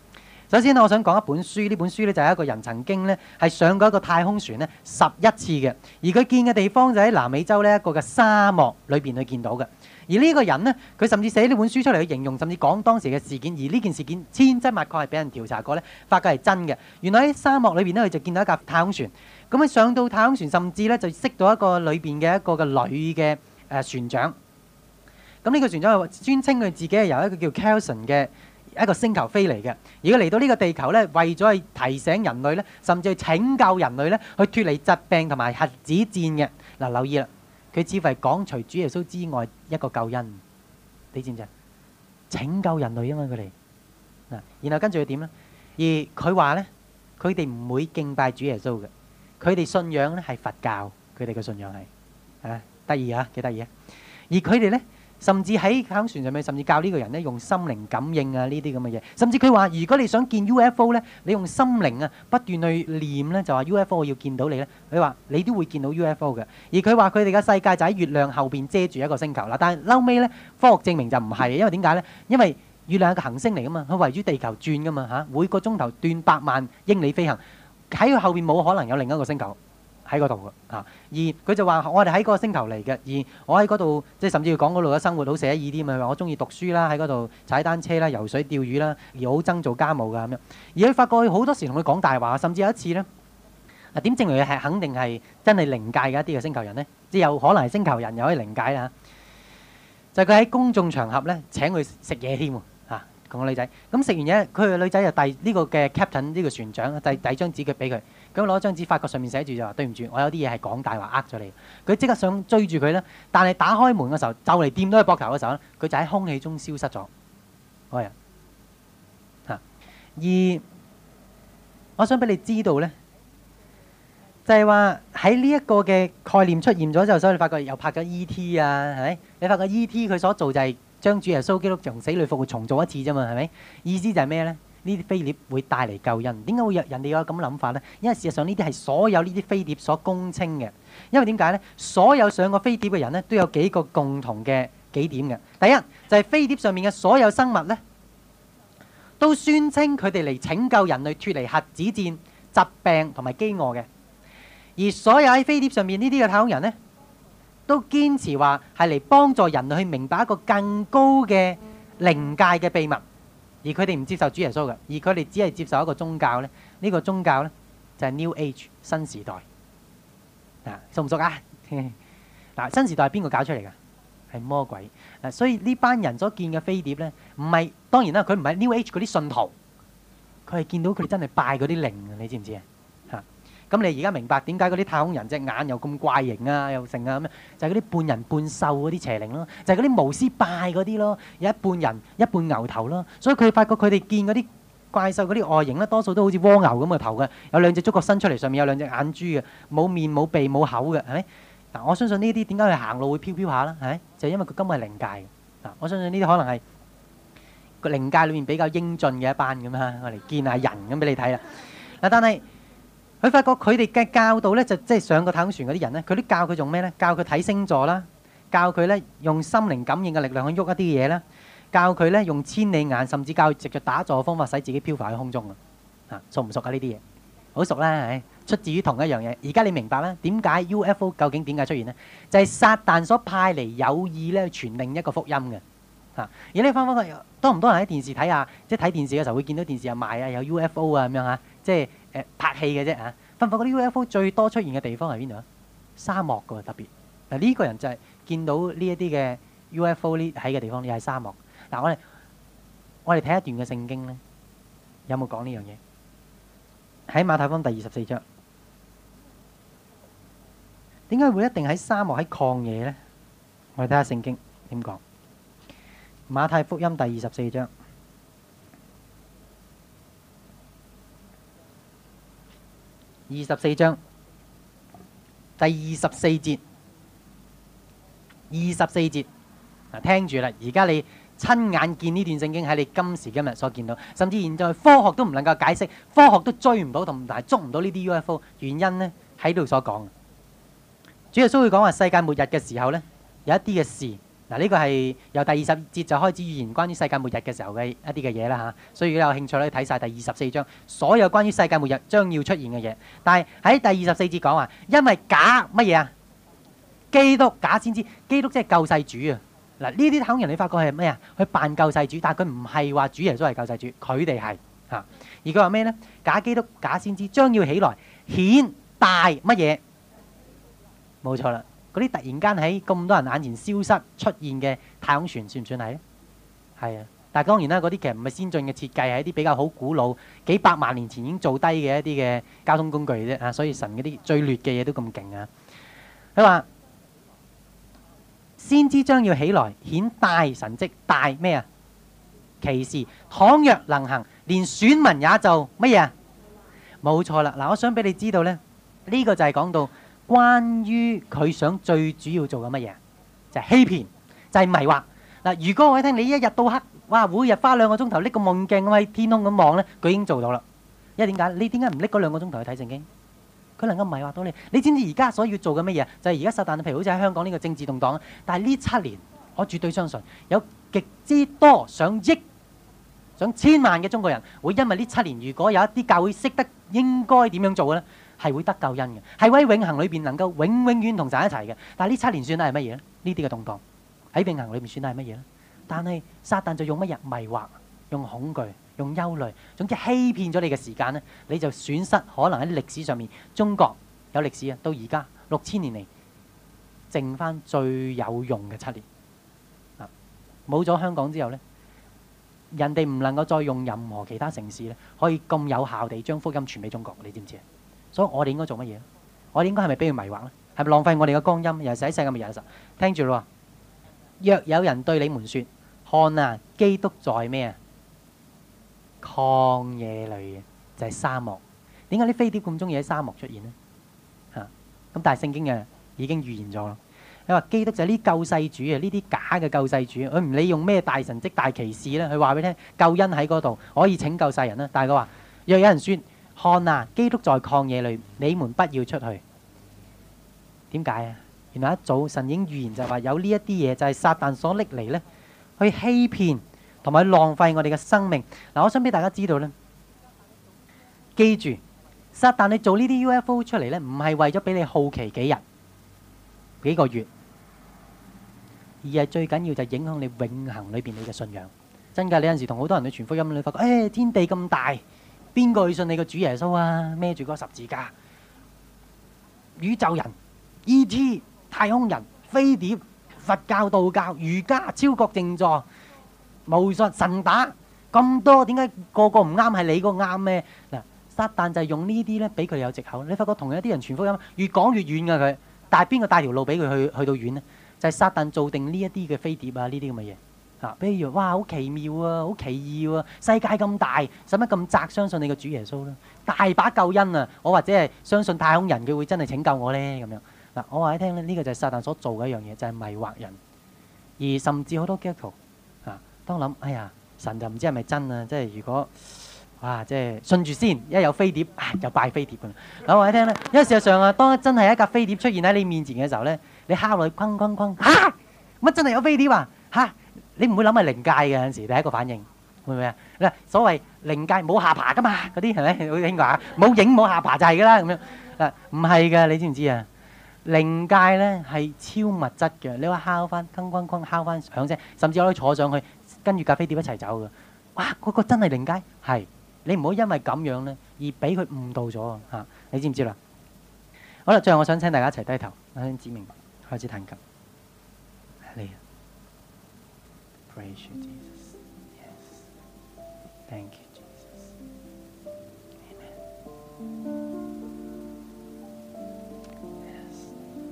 首先我想講一本書，呢本書咧就係一個人曾經咧係上過一個太空船咧十一次嘅，而佢見嘅地方就喺南美洲呢一個嘅沙漠裏邊去見到嘅。而呢個人呢，佢甚至寫呢本書出嚟去形容，甚至講當時嘅事件。而呢件事件千真萬確係俾人調查過咧，發覺係真嘅。原來喺沙漠裏邊咧，佢就見到一架太空船。咁佢上到太空船，甚至咧就識到一個裏邊嘅一個嘅女嘅誒船長。咁呢個船長係專稱佢自己係由一個叫 Kelson 嘅一個星球飛嚟嘅。而佢嚟到呢個地球咧，為咗去提醒人類咧，甚至去拯救人類咧，去脫離疾病同埋核子戰嘅。嗱，留意啦。佢似乎係講除主耶穌之外一個救恩，你知唔知啊？拯救人類啊嘛，佢哋嗱，然後跟住佢點咧？而佢話咧，佢哋唔會敬拜主耶穌嘅，佢哋信仰咧係佛教，佢哋嘅信仰係啊得意啊，幾得意啊！而佢哋咧，甚至喺太空船上面，甚至教呢個人咧用心靈感應啊呢啲咁嘅嘢，甚至佢話如果你想見 U F O 咧，你用心靈啊不斷去念咧，就話 U F O 我要見到你咧，佢話你都會見到 U F O 嘅。而佢話佢哋嘅世界就喺月亮後邊遮住一個星球啦，但係嬲尾咧科學證明就唔係，因為點解咧？因為月亮係個行星嚟噶嘛，佢圍住地球轉噶嘛嚇，每個鐘頭斷百萬英里飛行，喺佢後邊冇可能有另一個星球喺嗰度嘅嚇，而佢就話我哋喺嗰個星球嚟嘅，而我喺嗰度即係甚至要講嗰度嘅生活好寫意啲嘛，我中意讀書啦，喺嗰度踩單車啦、游水、釣魚啦，而好憎做家務㗎咁樣。而佢發覺佢好多時同佢講大話，甚至有一次咧，啊點證明佢係肯定係真係靈界嘅一啲嘅星球人咧？即係有可能係星球人又可以靈界啦。就係佢喺公眾場合咧請佢食嘢添喎嚇，同個女仔。咁食完嘢，佢個女仔就遞呢個嘅 captain 呢個船長遞遞張紙佢俾佢。咁攞張紙，發覺上面寫住就話對唔住，我有啲嘢係講大話呃咗你。佢即刻想追住佢咧，但係打開門嘅時候，就嚟掂到佢膊頭嘅時候咧，佢就喺空氣中消失咗。嗰日嚇，而我想俾你知道咧，就係話喺呢一個嘅概念出現咗之後，所以你發覺又拍咗 E T 啊，係咪？你發覺 E T 佢所做就係將主耶穌基督從死裏復活重做一次啫嘛，係咪？意思就係咩咧？呢啲飛碟會帶嚟救恩，點解會有人哋有咁嘅諗法呢？因為事實上呢啲係所有呢啲飛碟所公稱嘅。因為點解呢？所有上過飛碟嘅人呢，都有幾個共同嘅幾點嘅。第一就係飛碟上面嘅所有生物呢，都宣稱佢哋嚟拯救人類脫離核子戰、疾病同埋飢餓嘅。而所有喺飛碟上面呢啲嘅太空人呢，都堅持話係嚟幫助人類去明白一個更高嘅靈界嘅秘密。而佢哋唔接受主耶穌嘅，而佢哋只係接受一個宗教咧。呢個宗教咧就係 New Age 新時代。啊，熟唔熟啊？嗱，新時代係邊個搞出嚟㗎？係魔鬼。嗱，所以呢班人所見嘅飛碟咧，唔係當然啦，佢唔係 New Age 嗰啲信徒，佢係見到佢哋真係拜嗰啲靈啊！你知唔知啊？嚇！咁你而家明白點解嗰啲太空人隻眼又咁怪形啊，又成啊咁樣？就係嗰啲半人半獸嗰啲邪靈咯，就係嗰啲巫師拜嗰啲咯，有一半人一半牛頭咯。所以佢發覺佢哋見嗰啲怪獸嗰啲外形咧，多數都好似蝸牛咁嘅頭嘅，有兩隻觸角伸出嚟，上面有兩隻眼珠嘅，冇面冇鼻冇口嘅，係咪？嗱，我相信呢啲點解佢行路會飄飄下啦？係咪？就係因為佢根本係靈界嘅。嗱，我相信呢啲可能係個靈界裏面比較英俊嘅一班咁啊，我嚟見下人咁俾你睇啦。嗱，但係佢發覺佢哋嘅教導咧，就即係上個太空船嗰啲人咧，佢都教佢做咩咧？教佢睇星座啦，教佢咧用心靈感應嘅力量去喐一啲嘢啦，教佢咧用千里眼，甚至教佢藉著打坐嘅方法，使自己漂浮喺空中啊！啊，熟唔熟啊？呢啲嘢好熟啦，係出自於同一樣嘢。而家你明白啦，點解 U F O 究竟點解出現呢？就係撒旦所派嚟有意咧傳另一個福音嘅。嚇！而你翻返去多唔多人喺電視睇下？即係睇電視嘅時候會見到電視又賣啊，有 U F O 啊咁樣嚇，即係誒拍戲嘅啫嚇。發唔發覺啲 U F O 最多出現嘅地方係邊度啊？沙漠㗎喎，特別嗱呢個人就係見到呢一啲嘅 U F O 呢喺嘅地方，又係沙漠。嗱，我哋我哋睇一段嘅聖經咧，有冇講呢樣嘢？喺馬太福音第二十四章，點解會一定喺沙漠喺曠野咧？我哋睇下聖經點講。馬太福音第二十四章二十四章第二十四節，二十四節嗱，聽住啦！而家你親眼見呢段聖經喺你今時今日所見到，甚至現在科學都唔能夠解釋，科學都追唔到同埋捉唔到呢啲 U F O 原因呢，喺度所講。主耶穌會講話世界末日嘅時候呢，有一啲嘅事嗱，呢個係由第二十節就開始預言關於世界末日嘅時候嘅一啲嘅嘢啦嚇，所以如果有興趣咧，睇晒第二十四章所有關於世界末日將要出現嘅嘢。但係喺第二十四節講話，因為假乜嘢啊？基督假先知，基督即係救世主啊！嗱，呢啲香港人你發覺係咩啊？佢扮救世主，但係佢唔係話主耶穌係救世主，佢哋係嚇。而佢話咩咧？假基督假先知將要起來顯大乜嘢？冇錯啦。嗰啲突然間喺咁多人眼前消失出現嘅太空船算唔算係咧？係啊，但係當然啦，嗰啲其實唔係先進嘅設計，係一啲比較好古老、幾百萬年前已經做低嘅一啲嘅交通工具啫啊！所以神嗰啲最劣嘅嘢都咁勁啊！佢話先知將要起來顯大神蹟、大咩啊？奇事，倘若能行，連選民也就乜嘢啊？冇錯啦！嗱，我想俾你知道咧，呢個就係講到。關於佢想最主要做嘅乜嘢，就係欺騙，就係迷惑。嗱，如果我聽你一日到黑，哇，每日花兩個鐘頭拎個望鏡喺天空咁望咧，佢已經做到啦。因為點解？你點解唔拎嗰兩個鐘頭去睇聖經？佢能夠迷惑到你。你知唔知而家所要做嘅乜嘢？就係而家撒旦，譬如好似喺香港呢個政治動盪，但係呢七年，我絕對相信有極之多上億、上千萬嘅中國人會因為呢七年，如果有一啲教會識得應該點樣做嘅咧。係會得救恩嘅，係會喺永恆裏邊能夠永永遠同神一齊嘅。但係呢七年算係乜嘢咧？呢啲嘅動盪喺永恆裏邊算係乜嘢咧？但係撒旦就用乜嘢迷惑、用恐懼、用憂慮，總之欺騙咗你嘅時間咧，你就損失可能喺歷史上面中國有歷史啊，到而家六千年嚟剩翻最有用嘅七年啊！冇咗香港之後咧，人哋唔能夠再用任何其他城市咧，可以咁有效地將福音傳俾中國，你知唔知啊？所以我哋應該做乜嘢？我哋應該係咪俾佢迷惑咧？係咪浪費我哋嘅光陰？又係喺世界末日嘅時候，聽住咯。若有人對你們說：看啊，基督在咩啊？曠野裏嘅，就係沙漠。點解啲飛碟咁中意喺沙漠出現呢？嚇！咁但係聖經啊已經預言咗咯。你話基督就係呢救世主啊，呢啲假嘅救世主，佢唔理用咩大神蹟、大奇事咧，佢話俾你聽救恩喺嗰度可以拯救世人啦。但係佢話：若有人說，看啊，基督在曠野裏，你們不要出去。點解啊？原來一早神已經預言就係話有呢一啲嘢就係撒旦所拎嚟咧，去欺騙同埋浪費我哋嘅生命。嗱，我想俾大家知道咧，記住撒旦你做呢啲 U F O 出嚟咧，唔係為咗俾你好奇幾日、幾個月，而係最緊要就係影響你永恆裏邊你嘅信仰。真㗎，你有陣時同好多人去傳福音，你發覺誒天地咁大。邊個去信你個主耶穌啊？孭住嗰個十字架，宇宙人、E T、太空人、飛碟、佛教、道教、儒家、超國靜坐、巫術、神打咁多，點解個個唔啱？係你個啱咩？嗱，撒旦就係用呢啲咧，俾佢哋有藉口。你發覺同樣啲人傳福音，越講越遠㗎佢，但係邊個帶條路俾佢去去到遠呢？就係撒旦做定呢一啲嘅飛碟啊，呢啲咁嘅嘢。啊！比如哇，好奇妙啊，好奇異喎！世界咁大，使乜咁窄？相信你個主耶穌啦，大把救恩啊！我或者係相信太空人，佢會真係拯救我咧咁樣。嗱，我話你聽咧，呢個就係撒旦所做嘅一樣嘢，就係迷惑人。而甚至好多基督徒啊，當諗哎呀，神就唔知係咪真啊！即係如果哇，即係信住先，一有飛碟啊，就拜飛碟㗎啦。嗱，我話你聽咧，因為事實上啊，當真係一架飛碟出現喺你面前嘅時候咧，你敲落去哐哐哐嚇，乜真係有飛碟啊嚇！你唔會諗係靈界嘅，有陣時第一個反應會唔會啊？嗱，所謂靈界冇下巴噶嘛，嗰啲係咪？好聽話冇影冇下巴就係噶啦咁樣。嗱，唔係㗎，你知唔知啊？靈界咧係超物質嘅，你話敲翻，哐哐哐敲翻響聲，甚至可以坐上去跟住架飛碟一齊走㗎。哇！嗰個真係靈界係，你唔好因為咁樣咧而俾佢誤導咗啊！你知唔知啦？好啦，最後我想請大家一齊低頭，我想指明開始彈琴。你。Praise you, Jesus. Yes. Thank you, Jesus. Amen. Yes.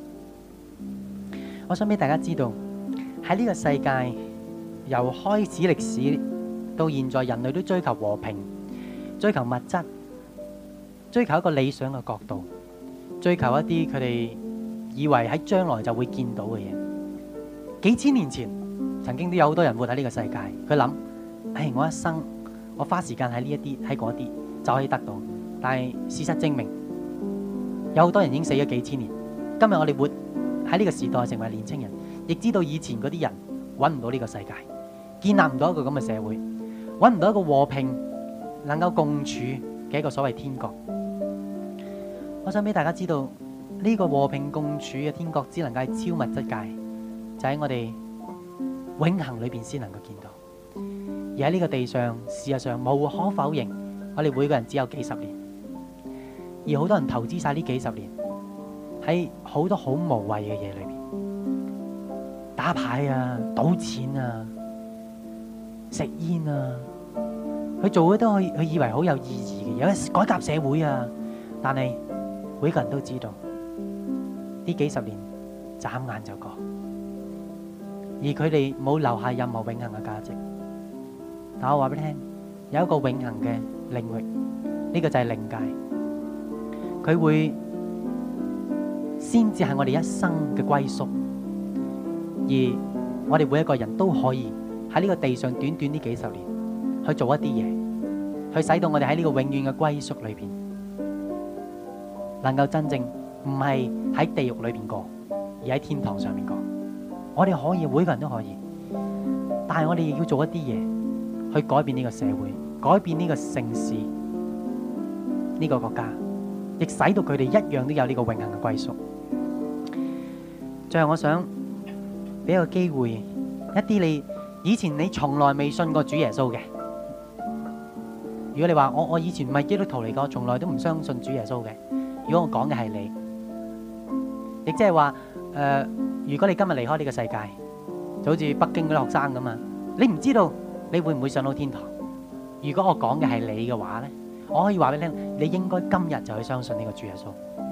我想俾大家知道，喺呢個世界由開始歷史到現在，人類都追求和平，追求物質，追求一個理想嘅國度，追求一啲佢哋以為喺將來就會見到嘅嘢。幾千年前，曾經都有好多人活喺呢個世界，佢諗：唉，我一生我花時間喺呢一啲喺嗰啲就可以得到。但係事實證明，有好多人已經死咗幾千年。今日我哋活喺呢個時代，成為年青人，亦知道以前嗰啲人揾唔到呢個世界，建立唔到一個咁嘅社會，揾唔到一個和平能夠共處嘅一個所謂天國。我想俾大家知道，呢個和平共處嘅天國只能夠係超物質界，就喺我哋永恆裏邊先能夠見到。而喺呢個地上，事實上無可否認，我哋每個人只有幾十年，而好多人投資晒呢幾十年喺好多好無謂嘅嘢裏邊，打牌啊、賭錢啊、食煙啊，佢做嘅都可以，佢以為好有意義嘅，有改革社會啊。但係每個人都知道，呢幾十年眨眼就過，而佢哋冇留下任何永恆嘅價值。但我話俾你聽，有一個永恆嘅領域，呢個就係靈界，佢會先至係我哋一生嘅歸宿，而我哋每一個人都可以喺呢個地上短短呢幾十年去做一啲嘢，去使到我哋喺呢個永遠嘅歸宿裏邊，能夠真正唔係喺地獄裏邊過，而喺天堂上面過。我哋可以，每個人都可以，但係我哋亦要做一啲嘢去改變呢個社會，改變呢個城市，呢個國家，亦使到佢哋一樣都有呢個永恆嘅歸宿。最後我想俾一個機會，一啲你以前你從來未信過主耶穌嘅，如果你話我我以前唔係基督徒嚟過，從來都唔相信主耶穌嘅，如果我講嘅係你，亦即係話誒，如果你今日離開呢個世界，就好似北京嗰啲學生咁啊，你唔知道你會唔會上到天堂？如果我講嘅係你嘅話咧，我可以話俾你聽，你應該今日就去相信呢個主耶穌。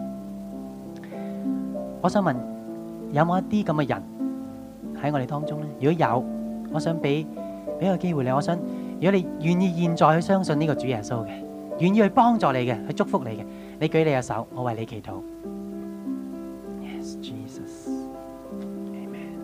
我想問，有冇一啲咁嘅人喺我哋當中咧？如果有，我想俾俾個機會你。我想，如果你願意現在去相信呢個主耶穌嘅，願意去幫助你嘅，去祝福你嘅，你舉你嘅手，我為你祈禱。Yes, Jesus. Amen.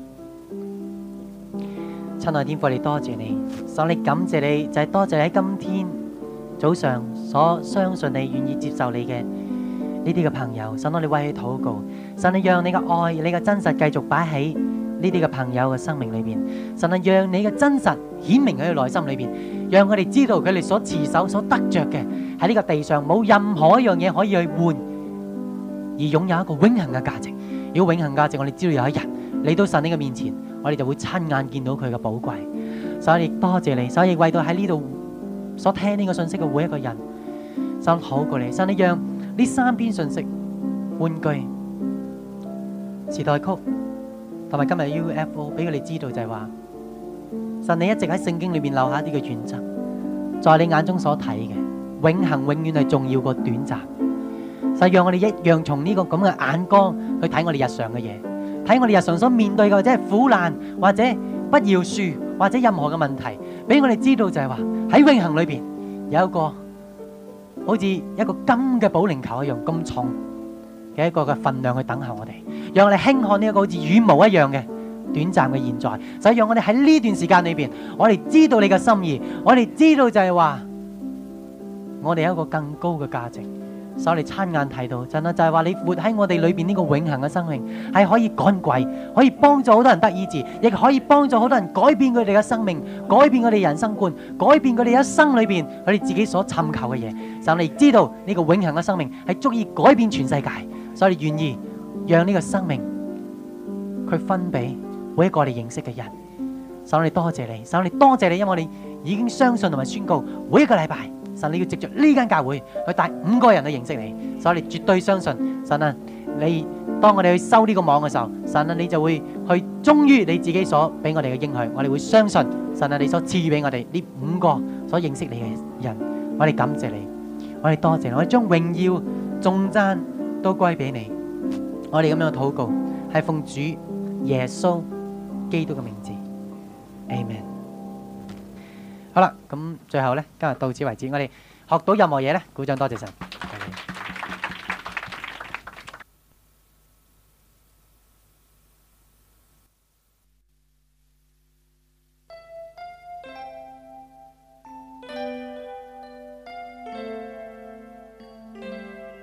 親愛的天父，你多謝你，神你感謝你，就係多謝你喺今天早上所相信你、願意接受你嘅呢啲嘅朋友。神，我哋為佢禱告，神你讓你嘅愛、你嘅真實繼續擺喺呢啲嘅朋友嘅生命裏邊。神啊，讓你嘅真實顯明喺佢內心裏邊，讓佢哋知道佢哋所持守、所得着嘅喺呢個地上冇任何一樣嘢可以去換，而擁有一個永恆嘅價值。如果永恆價值，我哋知道有一日嚟到神你嘅面前，我哋就會親眼見到佢嘅寶貴。所以多謝你，所以為到喺呢度所聽呢個信息嘅每一個人，神好過你，神你讓呢三篇信息、玩具、時代曲同埋今日 U F O 俾佢哋知道，就係話神你一直喺聖經裏面留下一啲嘅原則，在你眼中所睇嘅永恆永遠係重要過短暫。就讓我哋一樣從呢個咁嘅眼光去睇我哋日常嘅嘢，睇我哋日常所面對嘅，或者係苦難，或者不饒恕，或者任何嘅問題，俾我哋知道就係話喺永恆裏邊有一個好似一個金嘅保齡球一樣咁重嘅一個嘅分量去等候我哋，讓我哋輕看呢一個好似羽毛一樣嘅短暫嘅現在。就係讓我哋喺呢段時間裏邊，我哋知道你嘅心意，我哋知道就係話我哋有一個更高嘅價值。所以我哋親眼睇到，真係就係話你活喺我哋裏邊呢個永恆嘅生命，係可以趕鬼，可以幫助好多人得醫治，亦可以幫助好多人改變佢哋嘅生命，改變佢哋人生觀，改變佢哋一生裏邊佢哋自己所尋求嘅嘢。就你知道呢個永恆嘅生命係足以改變全世界，所以你願意讓呢個生命佢分俾每一個我哋認識嘅人。所以我哋多謝你，所以我哋多謝你，因為我哋已經相信同埋宣告每一個禮拜。神，你要藉着呢間教會去帶五個人去認識你，所以你絕對相信神啊！你當我哋去收呢個網嘅時候，神啊，你就會去忠於你自己所俾我哋嘅應許，我哋會相信神啊！你所賜予俾我哋呢五個所認識你嘅人，我哋感謝你，我哋多謝你，我哋將榮耀頌讚都歸俾你。我哋咁樣嘅禱告係奉主耶穌基督嘅名字 ，Amen。好啦，咁最後咧，今日到此為止。我哋學到任何嘢咧，鼓掌多謝神。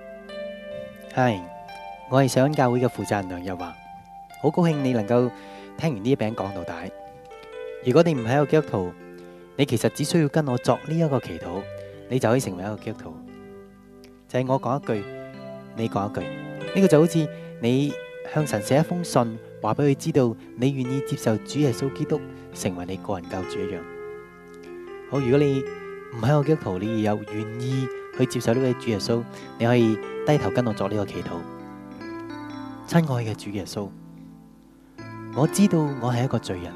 係，我係上恩教會嘅負責人梁日華，好高興你能夠聽完呢一餅講到底。如果你唔係一個基督徒，你其實只需要跟我作呢一個祈禱，你就可以成為一個基督徒。就係我講一句，你講一句，呢個就好似你向神寫一封信，話俾佢知道你願意接受主耶穌基督成為你個人救主一樣。好，如果你唔係一個基督徒，你又願意去接受呢位主耶穌，你可以低頭跟我作呢個祈禱。親愛嘅主耶穌，我知道我係一個罪人，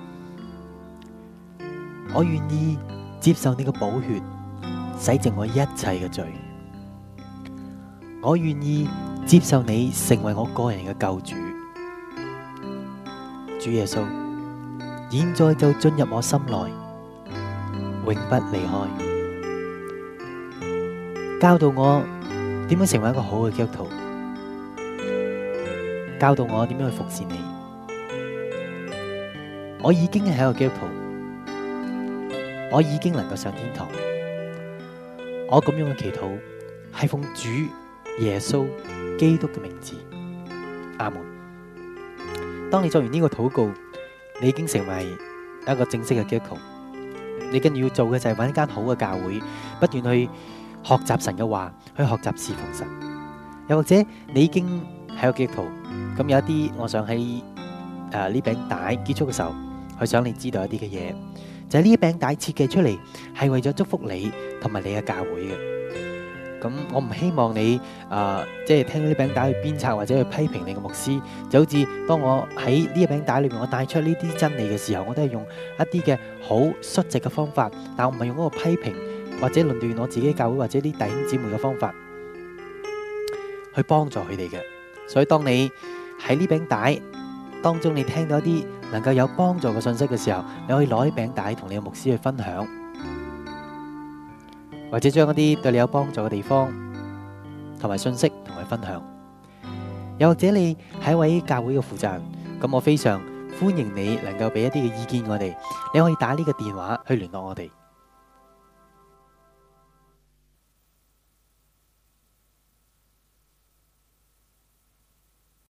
我願意接受你嘅寶血洗淨我一切嘅罪，我願意接受你成為我個人嘅救主。主耶穌，現在就進入我心內，永不離開，教導我點樣成為一個好嘅基督徒，教導我點樣去服侍你。我已經係一個基督徒，我已經能夠上天堂。我咁樣嘅祈禱係奉主耶穌基督嘅名字，阿門。當你做完呢個禱告，你已經成為一個正式嘅基督徒。你跟住要做嘅就係揾一間好嘅教會，不斷去學習神嘅話，去學習侍奉神。又或者你已經係一個基督徒，咁有一啲，我想喺誒呢餅帶結束嘅時候，去想你知道一啲嘅嘢，就係呢餅帶設計出嚟係為咗祝福你同埋你嘅教會嘅。咁我唔希望你誒即係聽到呢餅帶去鞭策或者去批評你嘅牧師，就好似當我喺呢一餅帶裏面我帶出呢啲真理嘅時候，我都係用一啲嘅好率直嘅方法，但我唔係用嗰個批評或者論斷我自己教會或者啲弟兄姊妹嘅方法去幫助佢哋嘅。所以當你喺呢餅帶當中你聽到一啲能夠有幫助嘅信息嘅時候，你可以攞起餅帶同你嘅牧師去分享，或者將一啲對你有幫助嘅地方同埋信息同佢分享。又或者你係一位教會嘅負責人，咁我非常歡迎你能夠俾一啲嘅意見我哋，你可以打呢個電話去聯絡我哋。